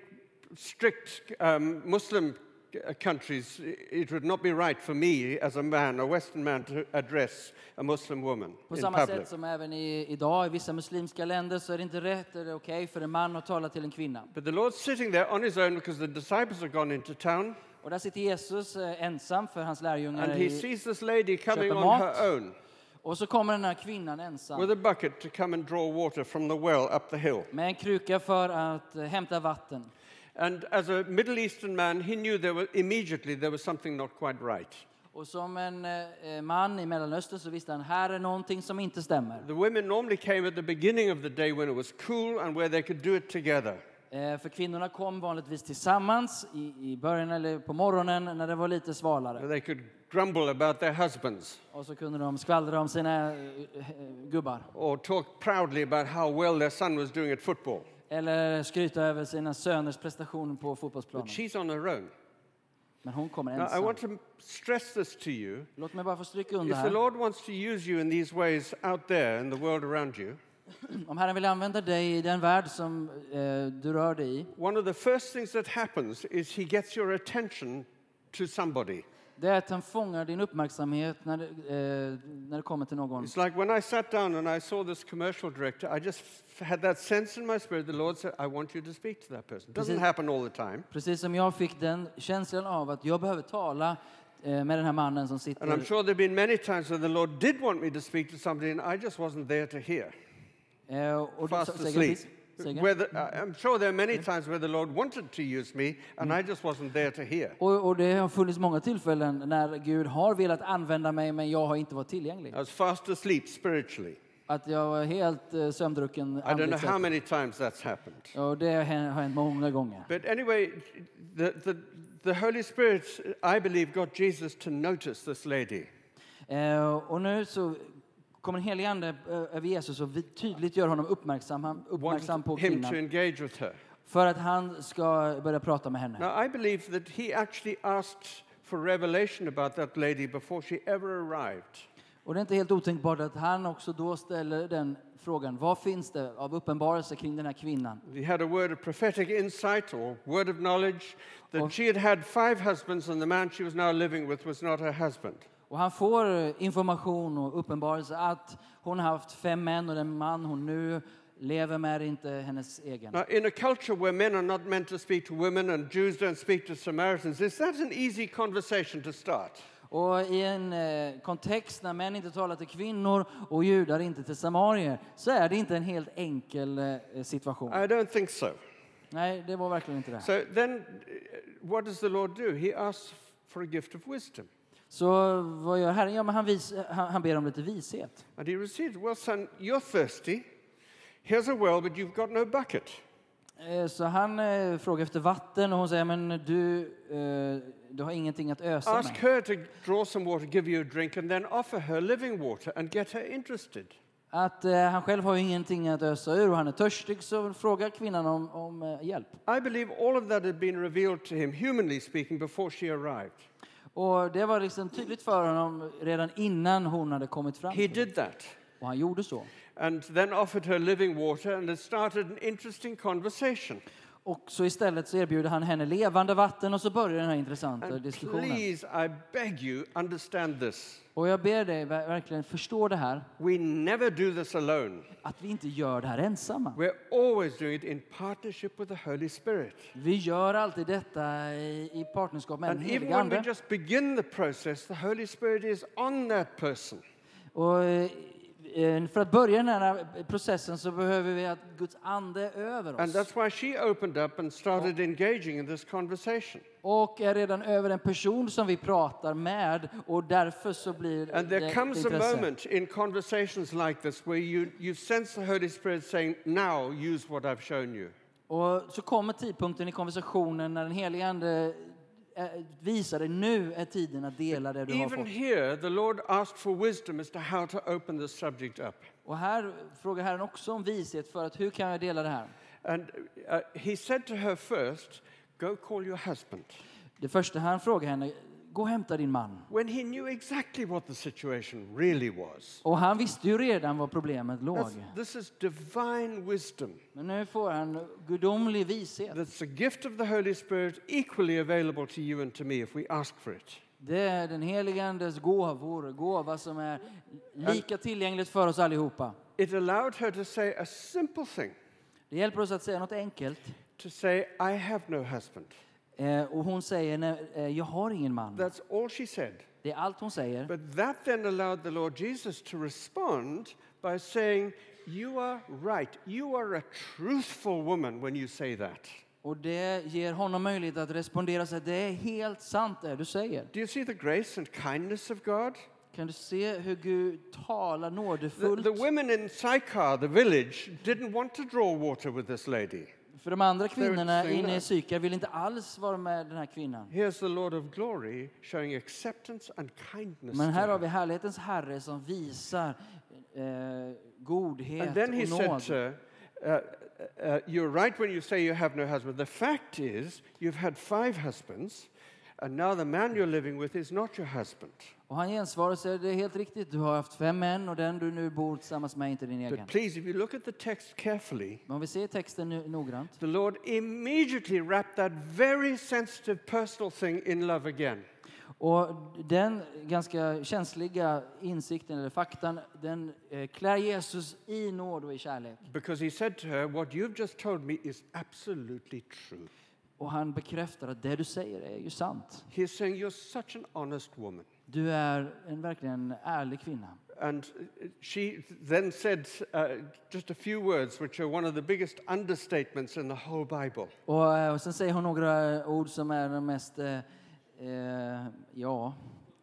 strict um, Muslim uh, countries, it would not be right for me as a man, a Western man, to address a Muslim woman På in samma public. sätt som även i, idag i vissa muslimska länder så är det inte rätt eller okej för en man att tala till en kvinna. But the Lord's sitting there on his own because the disciples have gone into town, Och där sitter Jesus eh, ensam för hans lärjungar. and he I, sees this lady coming köper on mat. her own och så kommer den här kvinnan ensam with a bucket to come and draw water from the well up the hill. med en kruka för att eh, hämta vatten. And as a Middle Eastern man, he knew there was immediately there was something not quite right. Och som en eh, man i Mellanöstern så visste han, här är någonting som inte stämmer. The women normally came at the beginning of the day when it was cool and where they could do it together. Eh, för kvinnorna kom vanligtvis tillsammans i, i början eller på morgonen när det var lite svalare. Where they could grumble about their husbands Och så kunde de skvallra om sina eh, eh, gubbar. or talk proudly about how well their son was doing at football. Eller skryta över sina söners prestation på But fotbollsplanen. she's on her own. Men hon kommer Now, I ensam. want to stress this to you. Låt mig bara få stryka under If the här. Lord wants to use you in these ways out there in the world around you, Om Herren vill använda dig i den värld som eh, du rör dig i. one of the first things that happens is he gets your attention to somebody. Det är att han fångar din uppmärksamhet när, det, eh, när det kommer till någon. It's like when I sat down and I saw this commercial director, I just f- had that sense in my spirit. The Lord said, I want you to speak to that person. It doesn't Precis. happen all the time. Precis som jag fick den känslan av att jag behöver tala eh, med den här mannen som And I'm sitter. sure there have been many times when the Lord did want me to speak to somebody and I just wasn't there to hear. Eh, och Fast så- säg asleep. igen, please. Säg igen. Where the, I- I'm sure there are many times where the Lord wanted to use me and I just wasn't there to hear. Och, och det har funnits många tillfällen när Gud har velat använda mig men jag har inte varit tillgänglig. I was fast asleep spiritually. Att jag var helt eh, sömndrucken I don't know andligt how sett. many times that's happened. Och det har hänt- har hänt många gånger. But anyway, the, the, the Holy Spirit, I believe, got Jesus to notice this lady. Eh, och nu så kommer en helig ande eh, över Jesus och vi tydligt gör honom uppmärksam, han- uppmärksam på Wanted him to kvinnan. engage with her. För att han ska börja prata med henne. Now, I believe that he actually asked for revelation about that lady before she ever arrived. Och det är inte helt otänkbart att han också då ställer den frågan. Vad finns det av uppenbarelse kring den här kvinnan? He had a word of prophetic insight or word of knowledge that Och- she had had five husbands and the man she was now living with was not her husband. Och han får information och uppenbarelse att hon har haft fem män och den man hon nu lever med är inte hennes egen. Now, in a culture where men are not meant to speak to women and Jews don't speak to Samaritans, is that an easy conversation to start? Och i en eh, kontext när män inte talar till kvinnor och judar inte till samarier så är det inte en helt enkel eh, situation. I don't think so. Nej, det var verkligen inte det. So then, uh, what does the Lord do? He asks for a gift of wisdom. Så vad gör Herren? Ja, men han, vis, han, han ber om lite vishet. And he receives, well, son, you're thirsty. Here's a well, but you've got no bucket. Eh, Så han eh, frågar efter vatten och hon säger, men du, eh, du har ingenting att ösa Ask med. her to draw some water, give you a drink, and then offer her living water and get her interested. Att eh, han själv har ju ingenting att ösa ur och han är törstig, så frågar kvinnan om, om eh, hjälp. I believe all of that had been revealed to him, humanly speaking, before she arrived. Och det var liksom tydligt för honom redan innan hon hade kommit fram. He till det. did that. Och han gjorde så. And then offered her living water, and it started an interesting conversation. Och så istället så erbjuder han henne levande vatten och så börjar den här intressanta And diskussionen. please, I beg you, understand this. Och jag ber dig ver- verkligen förstå det här. We never do this alone. Att vi inte gör det här ensamma. We're always doing it in partnership with the Holy Spirit. Vi gör alltid detta i, i partnerskap med den And even heliga when we Ande. just begin the process, the Holy Spirit is on that person. Och eh, för att börja den här processen så behöver vi att Guds ande är över And oss. that's why she opened up and started engaging in this conversation. Och är redan över en person som vi pratar med och därför så blir And det there ett comes a intresse. moment in conversations like this where you, you sense the Holy Spirit saying, now use what I've shown you. Och så kommer tidpunkten i konversationen när den helige Ande eh, visar dig, nu är tiden att dela det du har Even fått. here, the Lord asked for wisdom as to how to open this subject up. Och här frågar Herren också om vishet för att hur kan jag dela det här? And uh, he said to her first, go call your husband. Det första han frågar henne, gå och hämta din man. When he knew exactly what the situation really was. Och han visste ju redan var problemet låg. That's, this is divine wisdom. Men nu får han gudomlig vishet. That's a gift of the Holy Spirit equally available to you and to me if we ask for it. Det är den helige Andes gåvor, gåva som är lika tillgängligt för oss allihopa. It allowed her to say a simple thing, Det hjälper oss att säga något enkelt. to say, I have no husband. Eh, och hon säger, nej, eh, jag har ingen man. That's all she said. Det är allt hon säger. But that then allowed the Lord Jesus to respond by saying, you are right. You are a truthful woman when you say that. Och det ger honom möjlighet att respondera och säga, det är helt sant det du säger. Do you see the grace and kindness of God? Kan du se hur Gud talar The, nådefullt? the women in Sychar, the village, didn't want to draw water with this lady. För de andra kvinnorna saying inne i that. Sykar vill inte alls vara med den här kvinnan. Here's the Lord of glory showing acceptance and kindness Men to här har her. vi härlighetens Herre som visar eh, godhet And then he och said nåd. to her, uh, uh, you're right when you say you have no husband. The fact is, you've had five husbands, and now the man you're living with is not your husband. Och han gensvarar och säger, det är helt riktigt, du har haft fem män och den du nu bor tillsammans med är inte din egen. But please, if you look at the text carefully, Men om vi ser texten nu, noggrant. the Lord immediately wrapped that very sensitive personal thing in love again. Och den ganska känsliga insikten eller faktan, den eh, klär Jesus i nåd och i kärlek. Because he said to her, what you've just told me is absolutely true. Och han bekräftar att det du säger är ju sant. He's saying, you're such an honest woman. Du är en verkligen ärlig kvinna. And she then said uh, just a few words, which are one of the biggest understatements in the whole Bible. Och, eh, och sen säger hon några ord som är de mest, eh, eh, ja,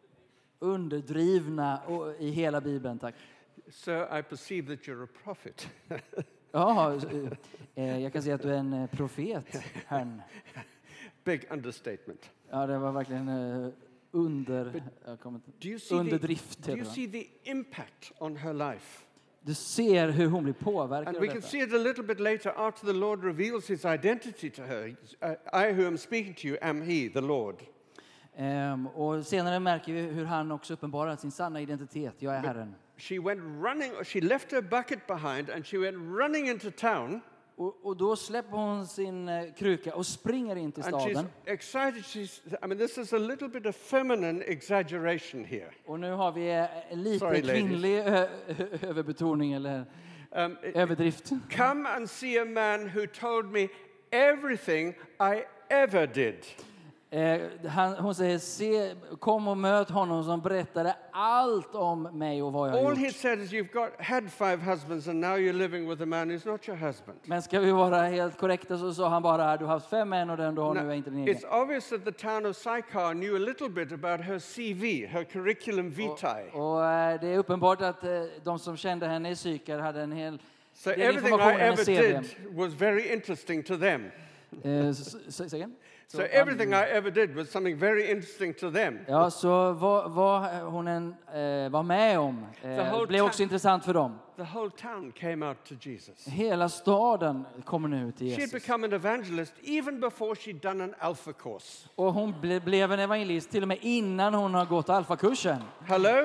underdrivna och, i hela Bibeln, tack. So I perceive that you're a prophet. Ja, eh, jag kan säga att du är en eh, profet, Herrn. Big understatement. Ja, det var verkligen eh, under, jag kommer inte, Do you see, underdrift. the, do heter you det. see the impact on her life? Du ser hur hon blir påverkad And av we can detta. see it a little bit later after the Lord reveals his identity to her. Uh, I who am speaking to you am he, the Lord. Ehm, och senare märker vi hur han också uppenbarar sin sanna identitet. Jag är Herren. She went running, she left her bucket behind and she went running into town. Och, och då släpper hon sin eh, kruka och springer in till And she's staden. excited. She's, I mean, this is a little bit of feminine exaggeration here. Och nu har vi eh, en lite Sorry, ladies. kvinnlig ö- ö- överbetoning eller Um, överdrift. Come and see a man who told me everything I ever did. Eh, han, hon säger, se, kom och möt honom som berättade allt om mig och vad jag har All he gjort. said is, you've got had five husbands and now you're living with a man who's not your husband. Men ska vi vara helt korrekta så sa han bara, du har haft fem män och den du har Now, nu är inte din egen. it's obvious that the town of Sychar knew a little bit about her C V, her curriculum vitae. Och eh, det är uppenbart att eh, de som kände henne i Sychar hade en hel So del everything I information i ever C V. did was very interesting to them. Eh, s- s- Säg igen. So everything I ever did was something very interesting to them. Ja, så vad, vad hon än eh, var med om The eh, whole blev också town- intressant för dem. The whole town came out to Jesus. Hela staden kommer nu till She had Jesus. become an evangelist even before she'd done an alpha course. Och hon ble, blev en evangelist till och med innan hon har gått alfakursen. Hello?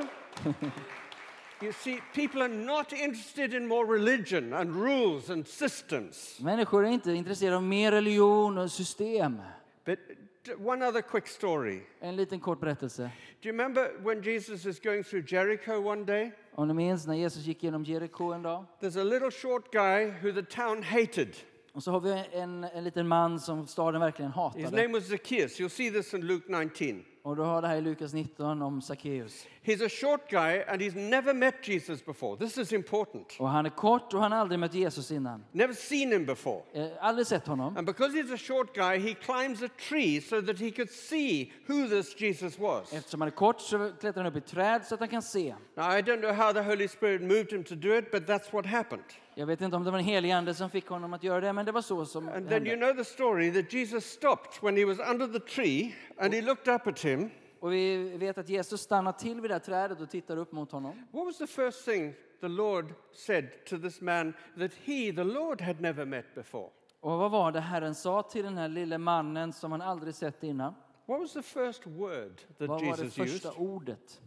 You see, people are not interested in more religion and rules and systems. Människor är inte intresserade av mer religion och system. But d- one other quick story. En liten kort berättelse. Do you remember when Jesus is going through Jericho one day? Om ni minns när Jesus gick genom Jeriko en dag. There's a little short guy who the town hated. Och så har vi en, en liten man som staden verkligen His hatade. name was Zacchaeus. You'll see this in Luke nineteen. Och då har det här i Lukas nitton om Sackeus. He's a short guy and he's never met Jesus before. This is important. Och han är kort och han har aldrig mött Jesus innan. Never seen him before. Eh, aldrig sett honom. And because he's a short guy, he climbs a tree so that he could see who this Jesus was. Eftersom han är kort så klättrar han upp i ett träd så att han kan se. Now, I don't know how the Holy Spirit moved him to do it, but that's what happened. Jag vet inte om det var en helig ande som fick honom att göra det, men det var så som And det then you hände. know the story that Jesus stopped when he was under the tree and he looked up at him. Och vi vet att Jesus stannar till vid det här trädet och tittar upp mot honom. What was the first thing the Lord said to this man that he, the Lord, had never met before? Och vad var det Herren sa till den här lille mannen som han aldrig sett innan? What was the first word that Vad var det Jesus första used? ordet?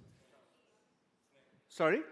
Sorry?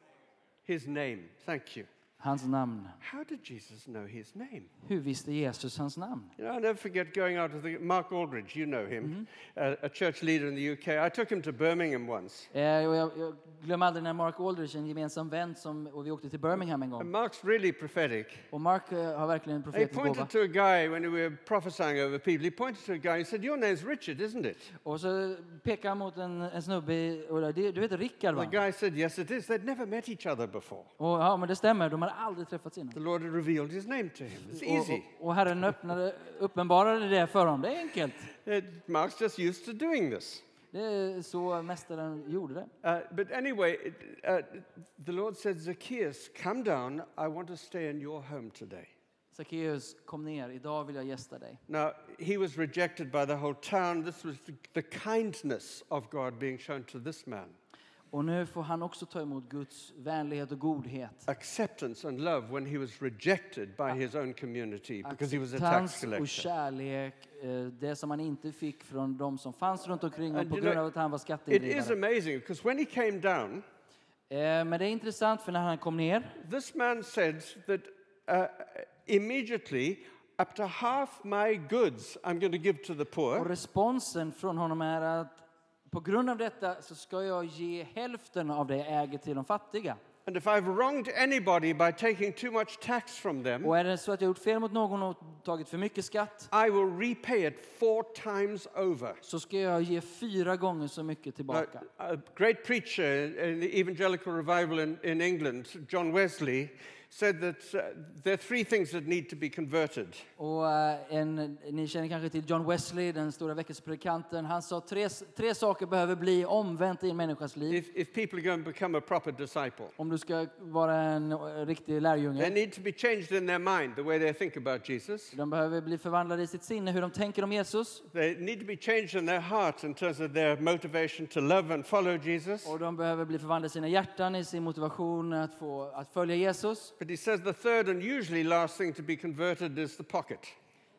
His name. Thank you. Hans namn. How did Jesus know his name? Hur visste Jesus hans namn? You know, I'll never forget going out to the Mark Aldridge, you know him, a, a church leader in the U K. I took him to Birmingham once. Eh, och jag, jag glömmer aldrig när Mark Aldridge, en gemensam vän, som, och vi åkte till Birmingham en And gång. Mark's really prophetic. Och Mark eh, har verkligen en He profetisk gåva. pointed to a guy when we were prophesying over people. He pointed to a guy and said, "Your name's Richard, isn't it?" Och så pekade han mot en, en snubbe, i- och det, du heter Rickard va? The guy said, "Yes, it is." They'd never met each other before. Och, ja, men det stämmer, de hade aldrig träffats innan. The Lord had revealed his name to him. It's Och, easy. och, och Herren öppnade, uppenbarade det för honom. Det är enkelt. Uh, Mark's just used to doing this. Det är så mästaren gjorde det. Uh, but anyway, it, uh, the Lord said, "Zacchaeus, come down. I want to stay in your home today." Sackeus, kom ner, idag vill jag gästa dig. Now, he was rejected by the whole town. This was the, the kindness of God being shown to this man. Och nu får han också ta emot Guds vänlighet och godhet. Acceptance and love when he was rejected by his own community because he was a tax Acceptans och collector. kärlek, eh, det som han inte fick från de som fanns runt omkring honom And på you grund know, av att han var It is skatteindrivare. amazing because when he came down, Eh, Men det är intressant för när han kom ner this man said that uh, immediately, up to half my goods I'm going to give to the och poor. responsen från honom är att på grund av detta så ska jag ge hälften av det jag äger till de fattiga. And if I've wronged anybody by taking too much tax from them, Och är det så att jag gjort fel mot någon och tagit för mycket skatt I will repay it four times over. så ska jag ge fyra gånger så mycket Uh, tillbaka. a great preacher in the evangelical revival in, in England, John Wesley, said that uh, there are three things that need to be converted. Och eh, en, ni känner kanske till John Wesley, den stora väckelsepredikanten. Han sa tre, tre saker behöver bli omvänt i en människas liv. If, if people are going to become a proper disciple, Om du ska vara en eh, riktig they lärjunge. need to be changed in their mind, the way they think about Jesus. De behöver bli förvandlade i sitt sinne, hur de tänker om Jesus. They need to be changed in their heart in terms of their motivation to love and follow Jesus. Och de behöver bli förvandlade i sina hjärtan, i sin motivation att, få, att följa Jesus. But he says the third and usually last thing to be converted is the pocket.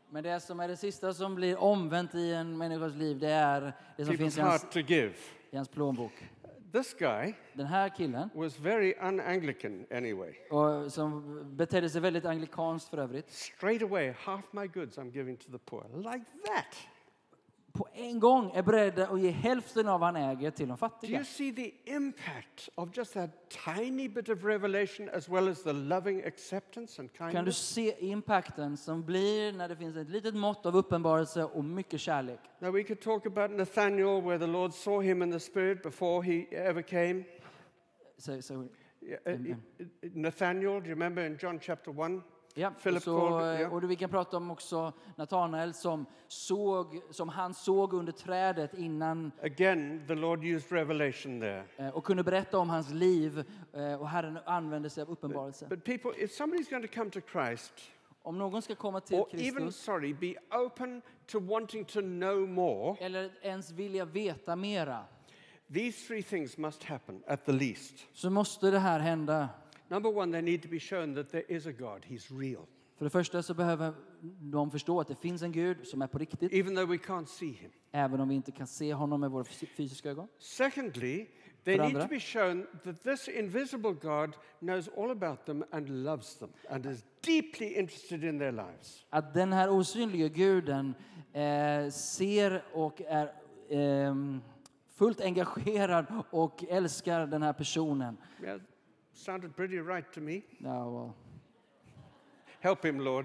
Men det som är det sista som blir omvänt i en människas liv, det är det som finns people's i hans, heart to give. i hans plånbok. This guy Den här killen, was very un-Anglican anyway. och som betedde sig väldigt anglikanskt för övrigt, Straight away, half my goods I'm giving to the poor. Like that. på en gång är beredd att ge hälften av vad han äger till de Do fattiga. you see the impact of just that tiny bit of revelation as well as the loving acceptance and Kan du kindness? se impacten som blir när det finns ett litet mått av uppenbarelse och mycket kärlek? Now we could talk about Nathaniel where the Lord saw him in the spirit before he ever came. Så, så, Yeah, uh, uh, uh, Nathaniel, do you remember in John chapter one? ja, Philip så, called, yeah. och vi kan prata om också Natanael som, såg, som han såg under trädet innan Again, the Lord used revelation there. eh, och kunde berätta om hans liv, eh, och Herren använde sig av uppenbarelse. But people, if somebody's going to come to Christ, Om någon ska komma till or even, Kristus sorry, be open to wanting to know more, eller ens vilja veta mera, these three things must happen at the least. så måste det här hända. Number one, they need to be shown that there is a God. He's real. För det första så behöver de förstå att det finns en Gud som är på riktigt, Even though we can't see him. även om vi inte kan se honom med våra fys- fysiska ögon. Secondly, they För need andra. to be shown that this invisible God knows all about them and loves them and is deeply interested in their lives. Att den här osynliga guden eh, ser och är ehm, fullt engagerad och älskar den här personen. Yeah, sounded pretty right to me. Ja, well. Help him, Lord.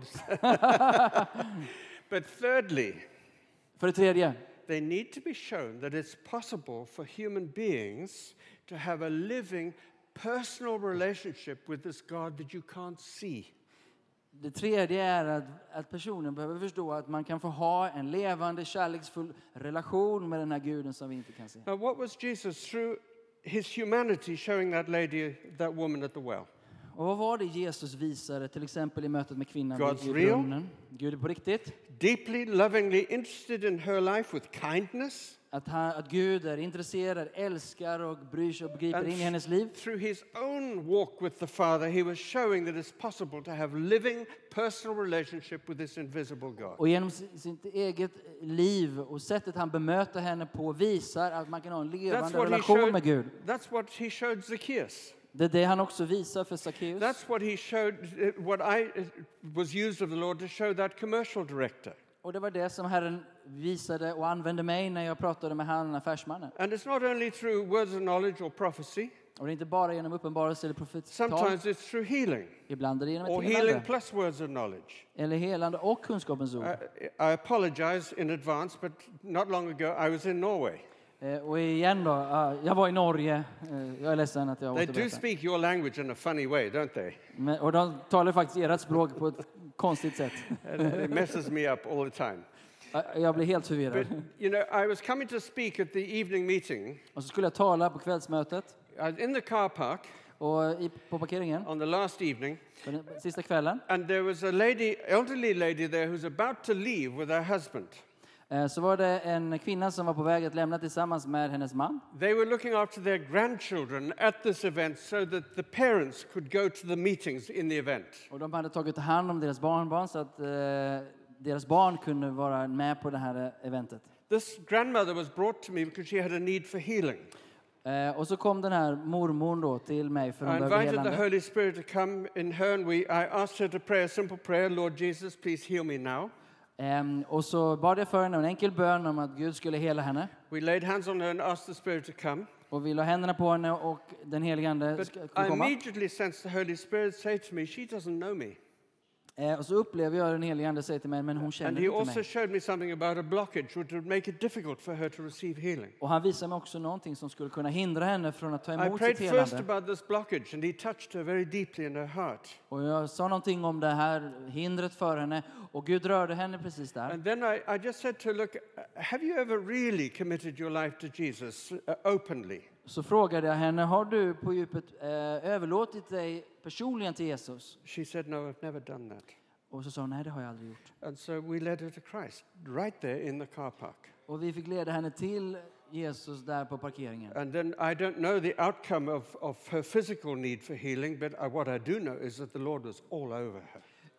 But thirdly, För det tredje, they need to be shown that it's possible for human beings to have a living, personal relationship with this God that you can't see. det tredje är att, att personen behöver förstå att man kan få ha en levande, kärleksfull relation med den här guden som vi inte kan se. Now, what was Jesus through his humanity showing that lady, that woman at the well? Och vad var det Jesus visade, till exempel i mötet med kvinnan God's vid real. brunnen? Gud är på riktigt. Deeply, lovingly interested in her life with kindness. Att, han, att Gud är intresserad, älskar och bryr sig och begriper And in i hennes liv. through his own walk with the Father, he was showing that it's possible to have living, personal relationship with this invisible God. Och genom si- sitt eget liv och sättet han bemöter henne på visar att man kan ha en That's levande what, he relation showed, med Gud. that's what he showed Zacchaeus. Det är det han också visar för Sackeus. That's what he showed, uh, what I uh, was used of the Lord to show that commercial director. Och det var det som Herren visade och använde mig när jag pratade med han, affärsmannen. And it's not only through words of knowledge or prophecy, Och det är inte bara genom uppenbarelse eller profettal. sometimes it's through healing Ibland är det genom or ett healing helande. plus words of knowledge. Eller helande och kunskapens ord. I, I apologize in advance, but not long ago I was in Norway. Eh, och igen då, ah, jag var i Norge. Eh, jag är ledsen att jag They do återberättar. speak your language in a funny way, don't they? Men, och de talar faktiskt ert språk på ett konstigt sätt. And it messes me up all the time. Ah, Jag blir helt förvirrad. But, you know, I was coming to speak at the evening meeting. Och så skulle jag tala på kvällsmötet. I was in the car park Och i, på parkeringen, on the last evening, på den sista kvällen, and there was a lady, elderly lady there who's about to leave with her husband. eh, så var det en kvinna som var på väg att lämna tillsammans med hennes man. They were looking after their grandchildren at this event so that the parents could go to the meetings in the event. Och de hade tagit hand om deras barnbarn så att eh, deras barn kunde vara med på det här eventet. This grandmother was brought to me because she had a need for healing. Eh, och så kom den här mormon då till mig för I hon behövde invited the helande. Holy Spirit to come in her, and we, I asked her to pray a simple prayer, Lord Jesus, please heal me now. Ehm, och så bad jag för henne en enkel bön om att Gud skulle hela henne. We laid hands on her and asked the Spirit to come. Och vi la händerna på henne och den helige Ande But skulle I komma. immediately sensed the Holy Spirit say to me, she doesn't know me. Eh, och så upplever jag den helige Ande säga till mig, men hon And känner he inte also mig. showed me something about a blockage which would make it difficult for her to receive healing. Och han visade mig också någonting som skulle kunna hindra henne från att ta I emot prayed sitt first helande. about this blockage, and he touched her very deeply in her heart. Och jag sa någonting om det här hindret för henne och Gud rörde henne precis där. And then I, I just said to her, look, have you ever really committed your life to Jesus uh, openly? Så frågade jag henne, har du på djupet eh, överlåtit dig personligen till Jesus? She said, no, I've never done that. Och så sa hon, nej det har jag aldrig gjort. And so we led her to Christ right there in the car park. Och vi fick leda henne till Jesus där på parkeringen. And then I don't know the outcome of, of her physical need for healing, but I, what I do know is that the Lord was all over her.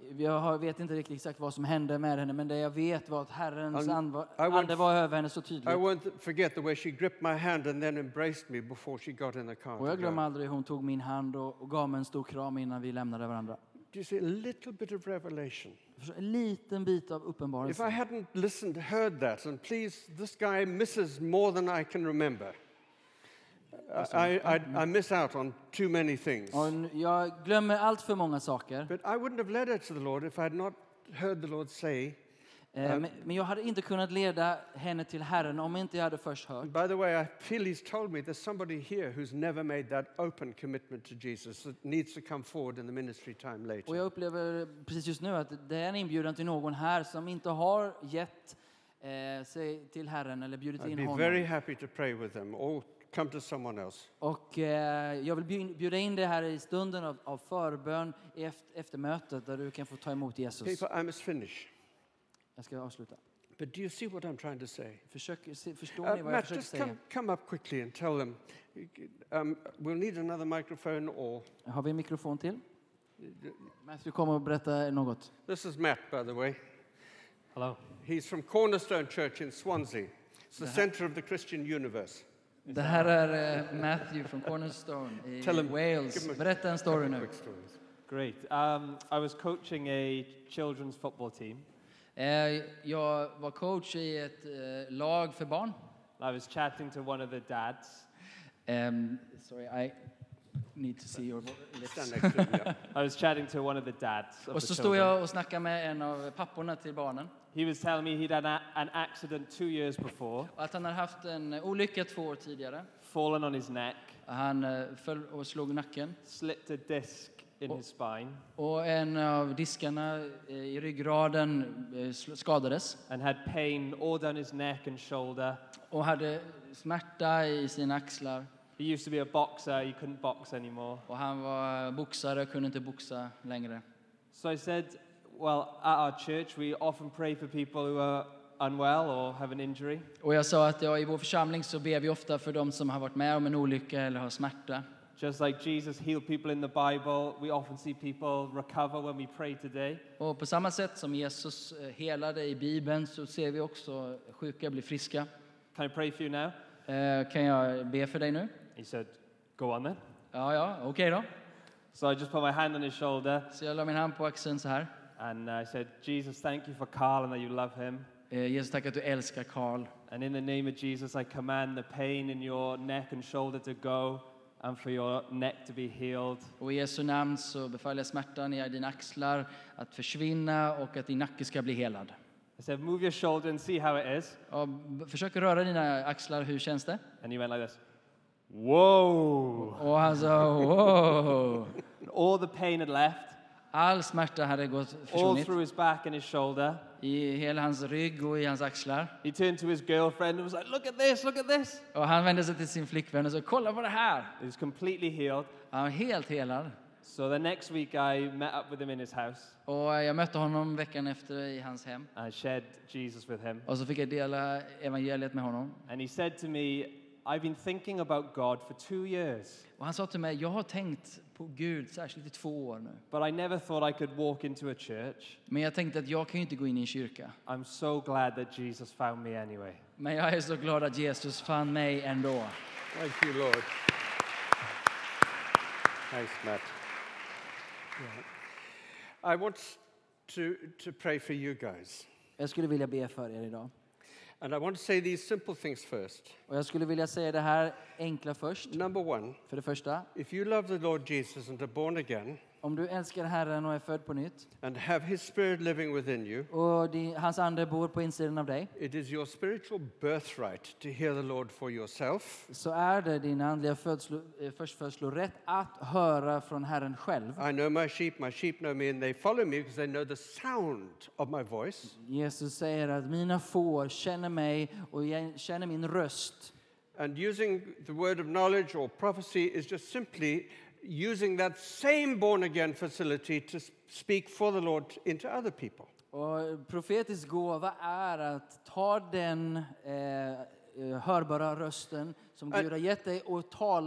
Jag har- vet inte riktigt exakt vad som hände med henne, men det jag vet var att Herrens And ande var, I won't- ande var över henne så I tydligt. won't forget the way she gripped my hand and then embraced me before she got in the car. Och to jag glömmer go. aldrig hur hon tog min hand och, och gav mig en stor kram innan vi lämnade varandra. Do you see a little bit of revelation? Förstår, en liten bit av If I uppenbarelse. hadn't listened, heard that, and please, this guy misses more than I can remember. I, I, I miss out on too many things. Och n- jag glömmer allt för många saker. But I wouldn't have led her to the Lord if I had not heard the Lord say. Eh, men, men jag hade inte kunnat leda henne till Herren om inte jag hade först hört. By the way, I feel he's told me there's somebody here who's never made that open commitment to Jesus that needs to come forward in the ministry time Och later. jag upplever precis just nu att det är en inbjudan till någon här som inte har gett eh, sig till Herren eller bjudit I'd in be honom. very happy to pray with them or come to someone else. Och eh, jag vill bjud- bjuda in dig här i stunden av, av förbön i eft- efter mötet där du kan få ta emot Jesus. People, I must finish. Jag ska avsluta. But do you see what I'm trying to say? Försök, se, förstår Uh, ni vad jag Matt, försöker just säga? come, come up quickly and tell them. Um, we'll need another microphone or... Har vi en mikrofon till? Matthew kommer och berätta något. This is Matt, by the way. Hello. He's from Cornerstone Church in Swansea. It's the center of the Christian universe. Det här är eh, Matthew från Cornerstone i Tell him- Wales. give him a Berätta en story nu. Quick stories. Great. Um, I was coaching a children's football team. Eh, Jag var coach i ett eh, lag för barn. I was chatting to one of the dads. Um, sorry, I need to see your lips. Stand next to him, yeah. I was chatting to one of the dads of Och the så stod children. jag och snackade med en av papporna till barnen. He was telling me he'd had a, an accident two years before, Och att han hade haft en olycka två år tidigare. fallen on his neck, Han eh, föll och slog nacken. slipped a disc in Oh. his spine, Och en av diskarna eh, i ryggraden eh, sl- skadades. and had pain all down his neck and shoulder. Och hade smärta i sina axlar. He used to be a boxer. He couldn't box anymore. Och han var boxare, kunde inte boxa längre. So I said, well, at our church, we often pray for people who are unwell or have an injury. Och jag sa att ja, i vår församling så ber vi ofta för de som har varit med om en olycka eller har smärta. Just like Jesus healed people in the Bible, we often see people recover when we pray today. Och på samma sätt som Jesus eh, helade i Bibeln så ser vi också sjuka bli friska. Can I pray for you now? Eh, kan jag be för dig nu? He said, go on then. Ja, ja, okej då. So I just put my hand on his shoulder Så jag la min hand på axeln så här. and I said, Jesus, thank you for Carl and that you love him. Eh, Jesus, tack att du älskar Karl. And in the name of Jesus, I command the pain in your neck and shoulder to go and for your neck to be healed. Och i Jesu namn så befaller jag smärtan i dina axlar att försvinna och att din nacke ska bli helad. I said, move your shoulder and see how it is. Och b- försök röra dina axlar, hur känns det? And he went like this. Whoa! Och han sa, wow! And all the pain had left, All smärta hade gått all försvunnit through his back and his shoulder. i hela hans rygg och i hans axlar. He turned to his girlfriend and was like, look at this, look at this. Och han vände sig till sin flickvän och sa, kolla på det här! He was completely healed. Han var helt helad. So the next week I met up with him in his house. Och jag mötte honom veckan efter i hans hem. I shared Jesus with him. Och så fick jag dela evangeliet med honom. And he said to me, I've been thinking about God for two years, Och han sa till mig, jag har tänkt på Gud särskilt i två år nu. but I never thought I could walk into a church. Men jag tänkte att jag kan ju inte gå in i en kyrka. I'm so glad that Jesus found me anyway. Men jag är så glad att Jesus fann mig ändå. Thank you, Lord. Thanks, Matt. Yeah. I want to, to pray for you guys. Jag skulle vilja be för er idag. And I want to say these simple things first. Och jag skulle vilja säga det här enkla först. Number one, För det första, if you love the Lord Jesus and are born again om du älskar Herren och är född på nytt and have his spirit living within you, och din, hans ande bor på insidan av dig, it is your spiritual birthright to hear the Lord for yourself. så är det din andliga födslo, eh, förstfödslorätt att höra från Herren själv. I know my sheep, my sheep know me, and they follow me because they know the sound of my voice. Jesus säger att mina får känner mig och jag känner min röst. And using the word of knowledge or prophecy is just simply using that same born again facility to s- speak for the Lord into other people. Och profetisk gåva är att ta den eh, eh, hörbara rösten som Ä- Gud har gett dig och tala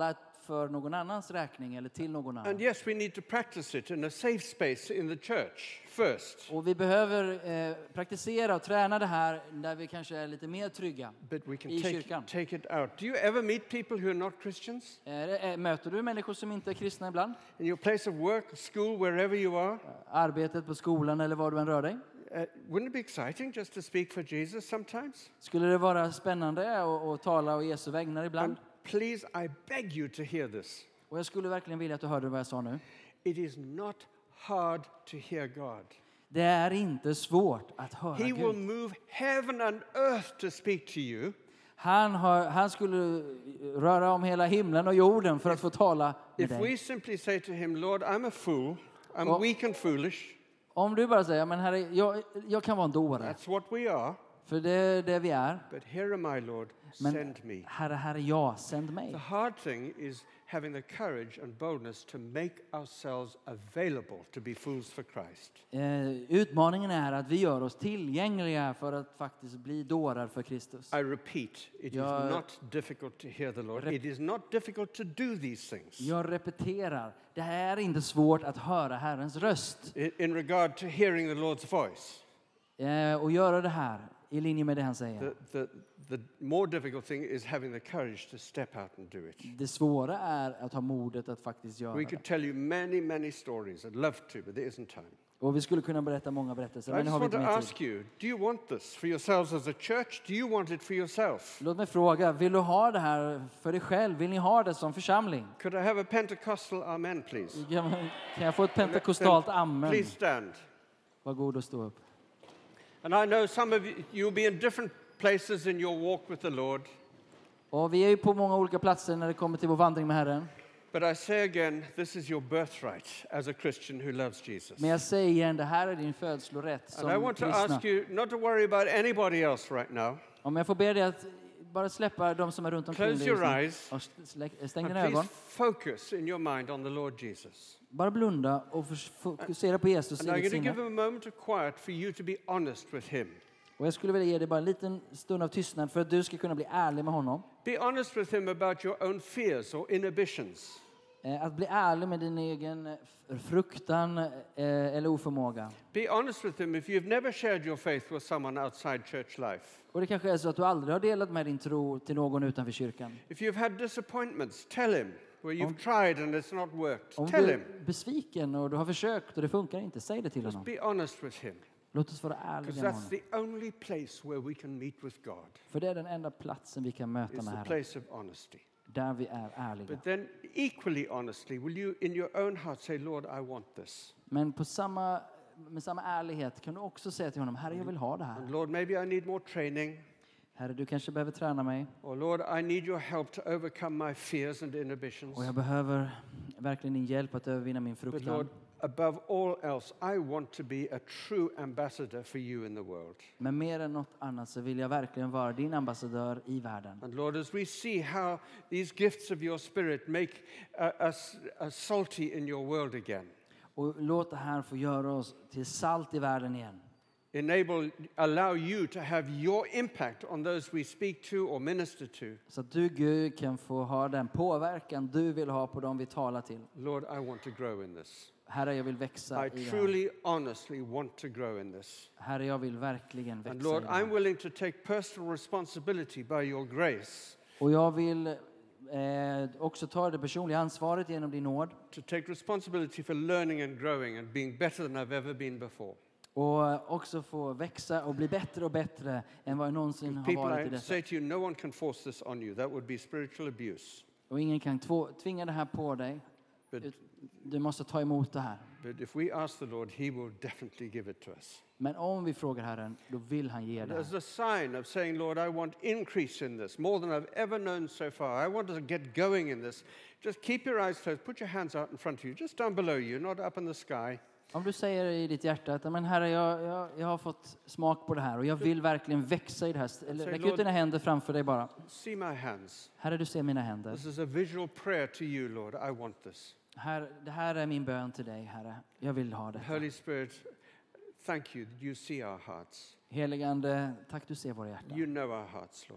för någon annans räkning eller till någon annan. And yes, we need to practice it in a safe space in the church first. Och vi behöver eh, praktisera och träna det här där vi kanske är lite mer trygga But we can i take, kyrkan. take it out. Do you ever meet people who are not Christians? Är det- är- Möter du människor som inte är kristna ibland? In your place of work, school, wherever you are? Arbetet på skolan eller var du än rör dig? Uh, wouldn't it be exciting just to speak for Jesus sometimes? Skulle det vara spännande att, att tala å Jesu vägnar ibland? And please, I beg you to hear this. Och jag skulle verkligen vilja att du hörde vad jag sa nu. It is not hard to hear God. Det är inte svårt att höra He will Gud. move heaven and earth to speak to you. Han, har, han skulle röra om hela himlen och jorden för att få tala med If dig. we simply say to him, Lord, I'm a fool, I'm Oh. weak and foolish, Om du bara säger, men herre, jag, jag kan vara en dåre. that's what we are. För det är det vi är. But here am I, Lord, Men send me. herre, herre, jag, sänd The mig. hard thing is having the courage and boldness to make ourselves available to be fools for Christ. Eh, utmaningen är att vi gör oss tillgängliga för att faktiskt bli dårar för Kristus. I repeat, it Jag- is not difficult to hear the Lord. Rep- It is not difficult to do these things. Jag repeterar, det är inte svårt att höra Herrens röst. In, in regard to hearing the Lord's voice, Eh, och göra det här i linje med det han säger. the, the, the more difficult thing is having the courage to step out and do it. Det svåra är att ha modet att faktiskt göra We det. could tell you many, many stories. I'd love to, but there isn't time. Och vi skulle kunna berätta många berättelser, I men nu just har vi want inte to mer tid. ask you, do you want this for yourselves as a church? Do you want it for yourself? Låt mig fråga, vill du ha det här för dig själv? Vill ni ha det som församling? Could I have a Pentecostal amen, please? Kan kan jag få ett pentekostalt amen? Please stand. Var god och stå upp. And I know some of you, you'll be in different places in your walk with the Lord. Och vi är ju på många olika platser när det kommer till vår vandring med Herren. But I say again, this is your birthright as a Christian who loves Jesus. Men jag säger igen, det här är din födslorätt And I som want to kristna. ask you not to worry about anybody else right now. Om jag får be dig att bara släppa de som är runt omkring Close dig your just nu. eyes. Och slä- stäng And dina ögon. please focus in your mind on the Lord Jesus. Bara blunda och förs- fokusera på Jesus And i I'm ditt going to give sinne. him a moment of quiet for you to be honest with him. Och jag skulle vilja ge dig bara en liten stund av tystnad för att du ska kunna bli ärlig med honom. Be honest with him about your own fears or inhibitions. Eh, Att bli ärlig med din egen eh, fruktan eh, eller oförmåga. Be honest with him if you've never shared your faith with someone outside church life. Och det kanske är så att du aldrig har delat med din tro till någon utanför kyrkan. If you've had disappointments, tell him. Where you've Om- tried and it's not worked, Om tell du him. är besviken och du har försökt och det funkar inte, säg det till Just honom. be honest with him. Låt oss vara Because ärliga med that's honom. the only place where we can meet with God. För det är den enda platsen vi kan möta It's med the Herren. place of honesty. Där vi är ärliga. But then equally honestly, will you in your own heart say, Lord, I want this. Men på samma, med samma ärlighet kan du också säga till honom, Herre, jag vill ha det And här. Lord, maybe I need more training. Herre, du kanske behöver träna mig. Or Lord, I need your help to overcome my fears and inhibitions. Och jag behöver verkligen din hjälp att övervinna min But fruktan. Lord, above all else, I want to be a true ambassador for you in the world. Men mer än något annat så vill jag verkligen vara din ambassadör i världen. And Lord, as we see how these gifts of your spirit make uh, us uh, salty in your world again, Och låt det här få göra oss till salt i världen igen. enable, allow you to have your impact on those we speak to or minister to. Så att du, Gud, kan få ha den påverkan du vill ha på dem vi talar till. Lord, I want to grow in this. Herre, jag vill växa I i det här. truly, honestly want to grow in this. Herre, jag vill verkligen And växa Lord, i det I'm här. willing to take personal responsibility by your grace Och jag vill eh, också ta det personliga ansvaret genom din nåd. to take responsibility for learning and growing and being better than I've ever been before. Och också få växa och bli bättre och bättre än vad jag någonsin har People, varit i I detta. say to you, no one can force this on you. That would be spiritual abuse. Och ingen kan två, tvinga det här på dig. But, Ut- Du måste ta emot det här. but if we ask the Lord, he will definitely give it to us. Men om vi frågar Herren, då vill han ge det As här. a sign of saying, Lord, I want increase in this, more than I've ever known so far. I want to get going in this. Just keep your eyes closed. Put your hands out in front of you, just down below you, not up in the sky. Om du säger i ditt hjärta att men Herre, jag, jag, jag har fått smak på det här och jag vill verkligen växa i det här. Eller, Säg, räck Lord- ut dina händer framför dig bara. See my hands. Herre, du ser mina händer. This is a visual prayer to you, Lord. I want this. Här, det här är min bön till dig, Herre. Jag vill ha det. Holy Spirit, thank you that you see our hearts. Heligande, tack du ser våra hjärtan. You know our hearts, Lord.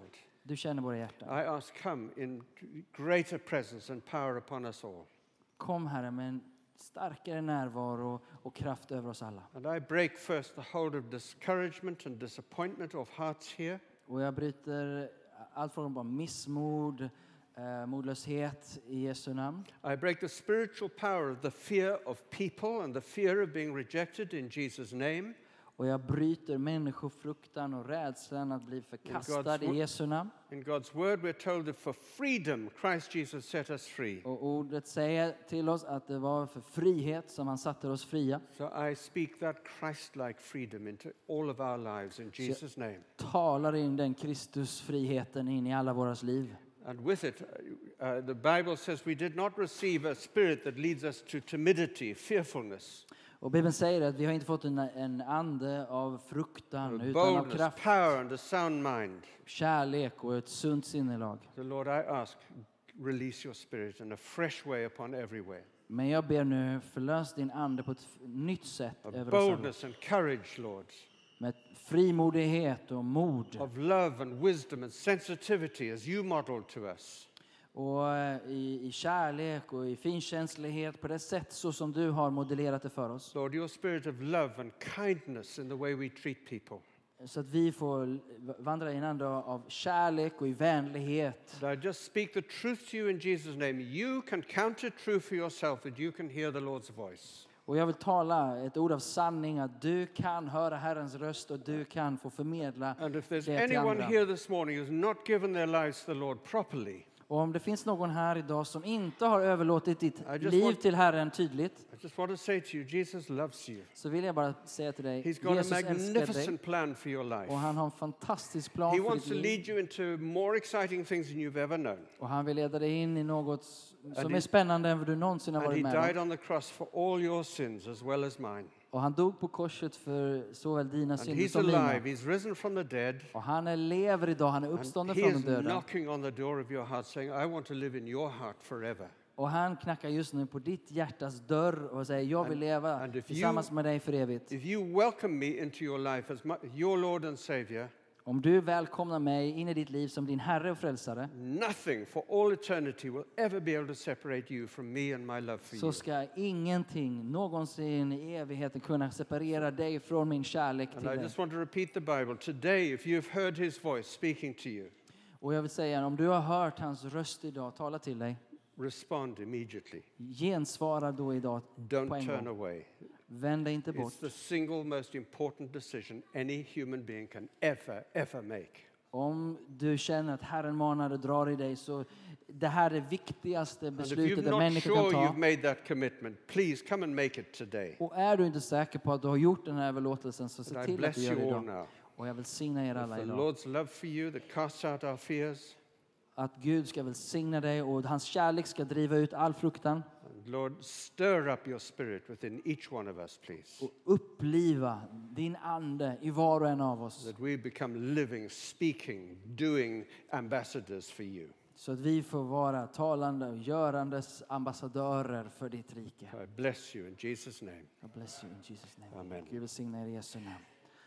Du känner våra hjärtan. I ask, come in greater presence and power upon us all. Kom, Herre, med en starkare närvaro och kraft över oss alla. And I break first the hold of discouragement and disappointment of hearts here. Och jag bryter allt från bara missmod, eh, modlöshet i Jesu namn. I break the spiritual power of the fear of people and the fear of being rejected in Jesus' name. Och jag bryter människofruktan och rädslan att bli förkastad i Jesu namn. In God's word we're told that for freedom Christ Jesus set us free. Och ordet säger till oss att det var för frihet som han satte oss fria. So I speak that Christ-like freedom into all of our lives in Jesus' name. Talar in den Kristusfriheten in i alla våras liv. And with it, uh, the Bible says we did not receive a spirit that leads us to timidity, fearfulness. Och Bibeln säger att vi har inte fått en, en ande av fruktan utan av Boldness, kraft, power and a sound mind. kärlek och ett sunt sinnelag. So Lord, I ask, release your spirit in a fresh way upon every way. Men jag ber nu, förlös din ande på ett f- nytt sätt Of över oss alla. boldness and courage, Lord. Med frimodighet och mod. Of love and wisdom and sensitivity as you modeled to us. Och eh, i, i kärlek och i finkänslighet på det sätt så som du har modellerat det för oss. Lord, your spirit of love and kindness in the way we treat people. Så att vi får vandra i en anda av kärlek och i vänlighet. And I just speak the truth to you in Jesus' name. You can counter truth for yourself that you can hear the Lord's voice. Och jag vill tala ett ord av sanning att du kan höra Herrens röst och du kan få förmedla And if det there's till anyone andra. here this morning who's not given their lives to the Lord properly, Och om det finns någon här idag som inte har överlåtit ditt I just liv want- till Herren tydligt, I just want to say to you, Jesus loves you. så vill jag bara säga till dig, He's got a Jesus älskar dig magnificent plan for your och life. han har en fantastisk plan He för wants ditt to liv. lead you into more exciting things than you've ever known. Och han vill leda dig in i något som And är he- spännande än vad du någonsin har And he varit med died om. on the cross for all your sins as well as mine. Och han dog på korset för såväl dina And synder he's som mina. alive. He's risen from the dead. Och han är lever idag, han är And uppstånden he från is de döda. knocking on the door of your heart saying, I want to live in your heart forever. Och han knackar just nu på ditt hjärtas dörr och säger, jag vill And- leva and if tillsammans you- med dig för evigt. If you welcome me into your life as my, your Lord and Savior, Om du välkomnar mig in i ditt liv som din Herre och frälsare, nothing for all eternity will ever be able to separate you from me and my love for så you. ska ingenting någonsin i evigheten kunna separera dig från min kärlek And till I dig. just want to repeat the Bible. Today, if you've heard his voice speaking to you, Och jag vill säga, om du har hört hans röst idag tala till dig, respond immediately. gensvara då idag på Don't en turn gång. away. Vänd dig inte bort. It's the single most important decision any human being can ever, ever make. Om du känner att Herren manar och drar i dig, så det här är det viktigaste And if beslutet you're en not människa sure kan you've ta. made that commitment, please come and make it today. Och är du inte säker på att du har gjort den här överlåtelsen, så se And I till att bless du gör det you all idag. now. Och jag välsignar er With alla the idag. Lord's love for you that casts out our fears. Att Gud ska välsigna dig och hans kärlek ska driva ut all fruktan. And Lord, stir up your spirit within each one of us, please. Och uppliva din ande i var och en av oss. That we become living, speaking, doing ambassadors for you. Så att vi får vara talande och görandes ambassadörer för ditt rike. I bless you in Jesus' name. God bless you in Jesus name. Amen. Gud välsigna er i Jesu namn.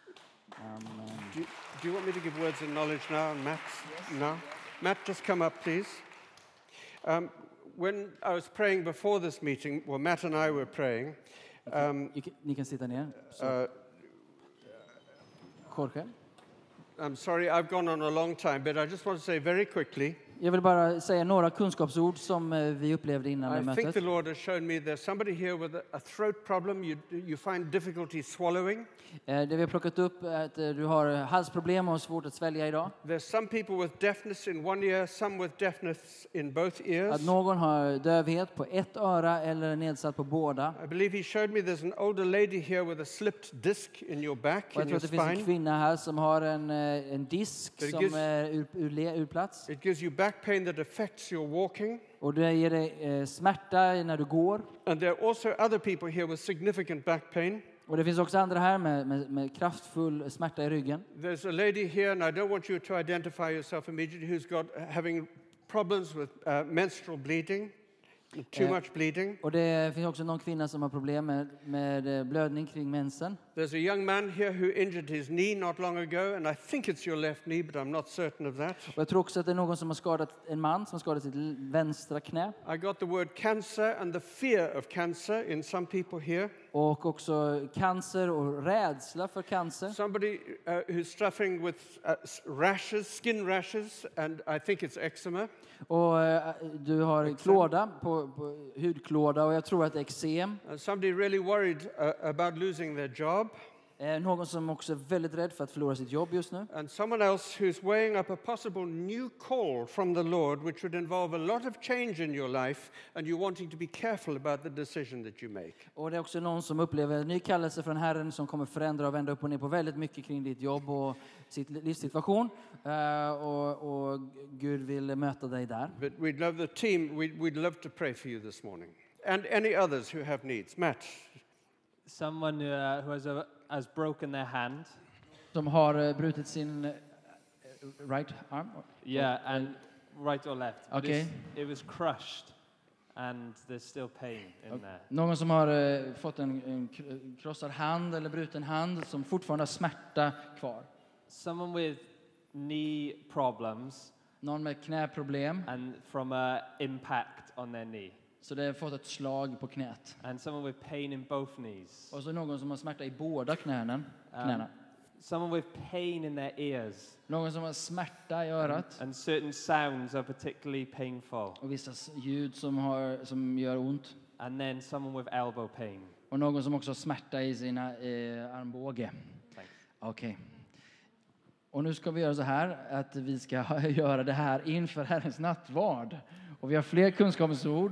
Amen. Do you, do you want me to give words of knowledge now? And Matt? No? Matt, just come up, please. Um, when I was praying before this meeting, well, Matt and I were praying. Um, Ni kan- Ni kan sitta ner. Så, uh, Jorge. I'm sorry, I've gone on a long time, but I just want to say very quickly, Jag vill bara säga några kunskapsord som eh, vi upplevde innan det I think mötet. the Lord has shown me there's somebody here with a, a throat problem. You, you find difficulty swallowing. Eh, Det vi har plockat upp är att eh, du har halsproblem och svårt att svälja idag. There's some people with deafness in one ear, some with deafness in both Att ears. någon har dövhet på ett öra eller nedsatt på båda. I believe he showed me there's an older lady here with a slipped disc in your back, Och jag in tror your att det finns en spine. kvinna här som har en, eh, en disk But it som gives- är ur, ur, le- ur plats. It gives you back pain that affects your walking. Och det ger dig eh, smärta när du går. And there are also other people here with significant back pain. Och det finns också andra här med, med, med kraftfull smärta i ryggen. There's a lady here, and I don't want you to identify yourself immediately, who's got having problems with uh, menstrual bleeding. Too Eh, much bleeding. Och det finns också någon kvinna som har problem med, med eh, blödning kring mensen. There's a young man here who injured his knee not long ago, and I think it's your left knee, but I'm not certain of that. Och jag tror också att det är någon som har skadat, en man som har skadat sitt l- vänstra knä. I got the word cancer and the fear of cancer in some people here. Och också cancer och rädsla för cancer. Somebody uh, who's suffering with uh, s- rashes, skin rashes, and I think it's eczema. Och eh, du har klåda, på, på hudklåda, och jag tror att det är eksem. And somebody really worried uh, about losing their job. Eh, någon som också är väldigt rädd för att förlora sitt jobb just nu. And someone else who's weighing up a possible new call from the Lord, which would involve a lot of change in your life, and you're wanting to be careful about the decision that you make. Och det är också någon som upplever en ny kallelse från Herren som kommer förändra och vända upp och ner på väldigt mycket kring ditt jobb och sitt livssituation. Eh, och, och Gud vill möta dig där. But we'd love the team, we'd, we'd love to pray for you this morning. And any others who have needs. Matt. Someone who, uh, who has, a, has broken their hand. Som har eh, brutit sin eh, right arm. Yeah, and right or left. But Okay. it's- It was crushed, and there's still pain in there. Någon som har eh, fått en, en k- krossad hand eller bruten hand som fortfarande har smärta kvar. Someone with knee problems Någon med knäproblem, and from a impact on their knee. så det har fått ett slag på knät. And someone with pain in both knees. Och så någon som har smärta i båda knäna. knäna. Someone with pain in their ears. Någon som har smärta i örat. And certain sounds are particularly painful. Och vissa s- ljud som, har, som gör ont. And then someone with elbow pain. Och någon som också har smärta i sina eh, armbåge. Thanks. Okej. Och nu ska vi göra så här att vi ska göra det här inför Herrens nattvard. Och vi har fler kunskapsord.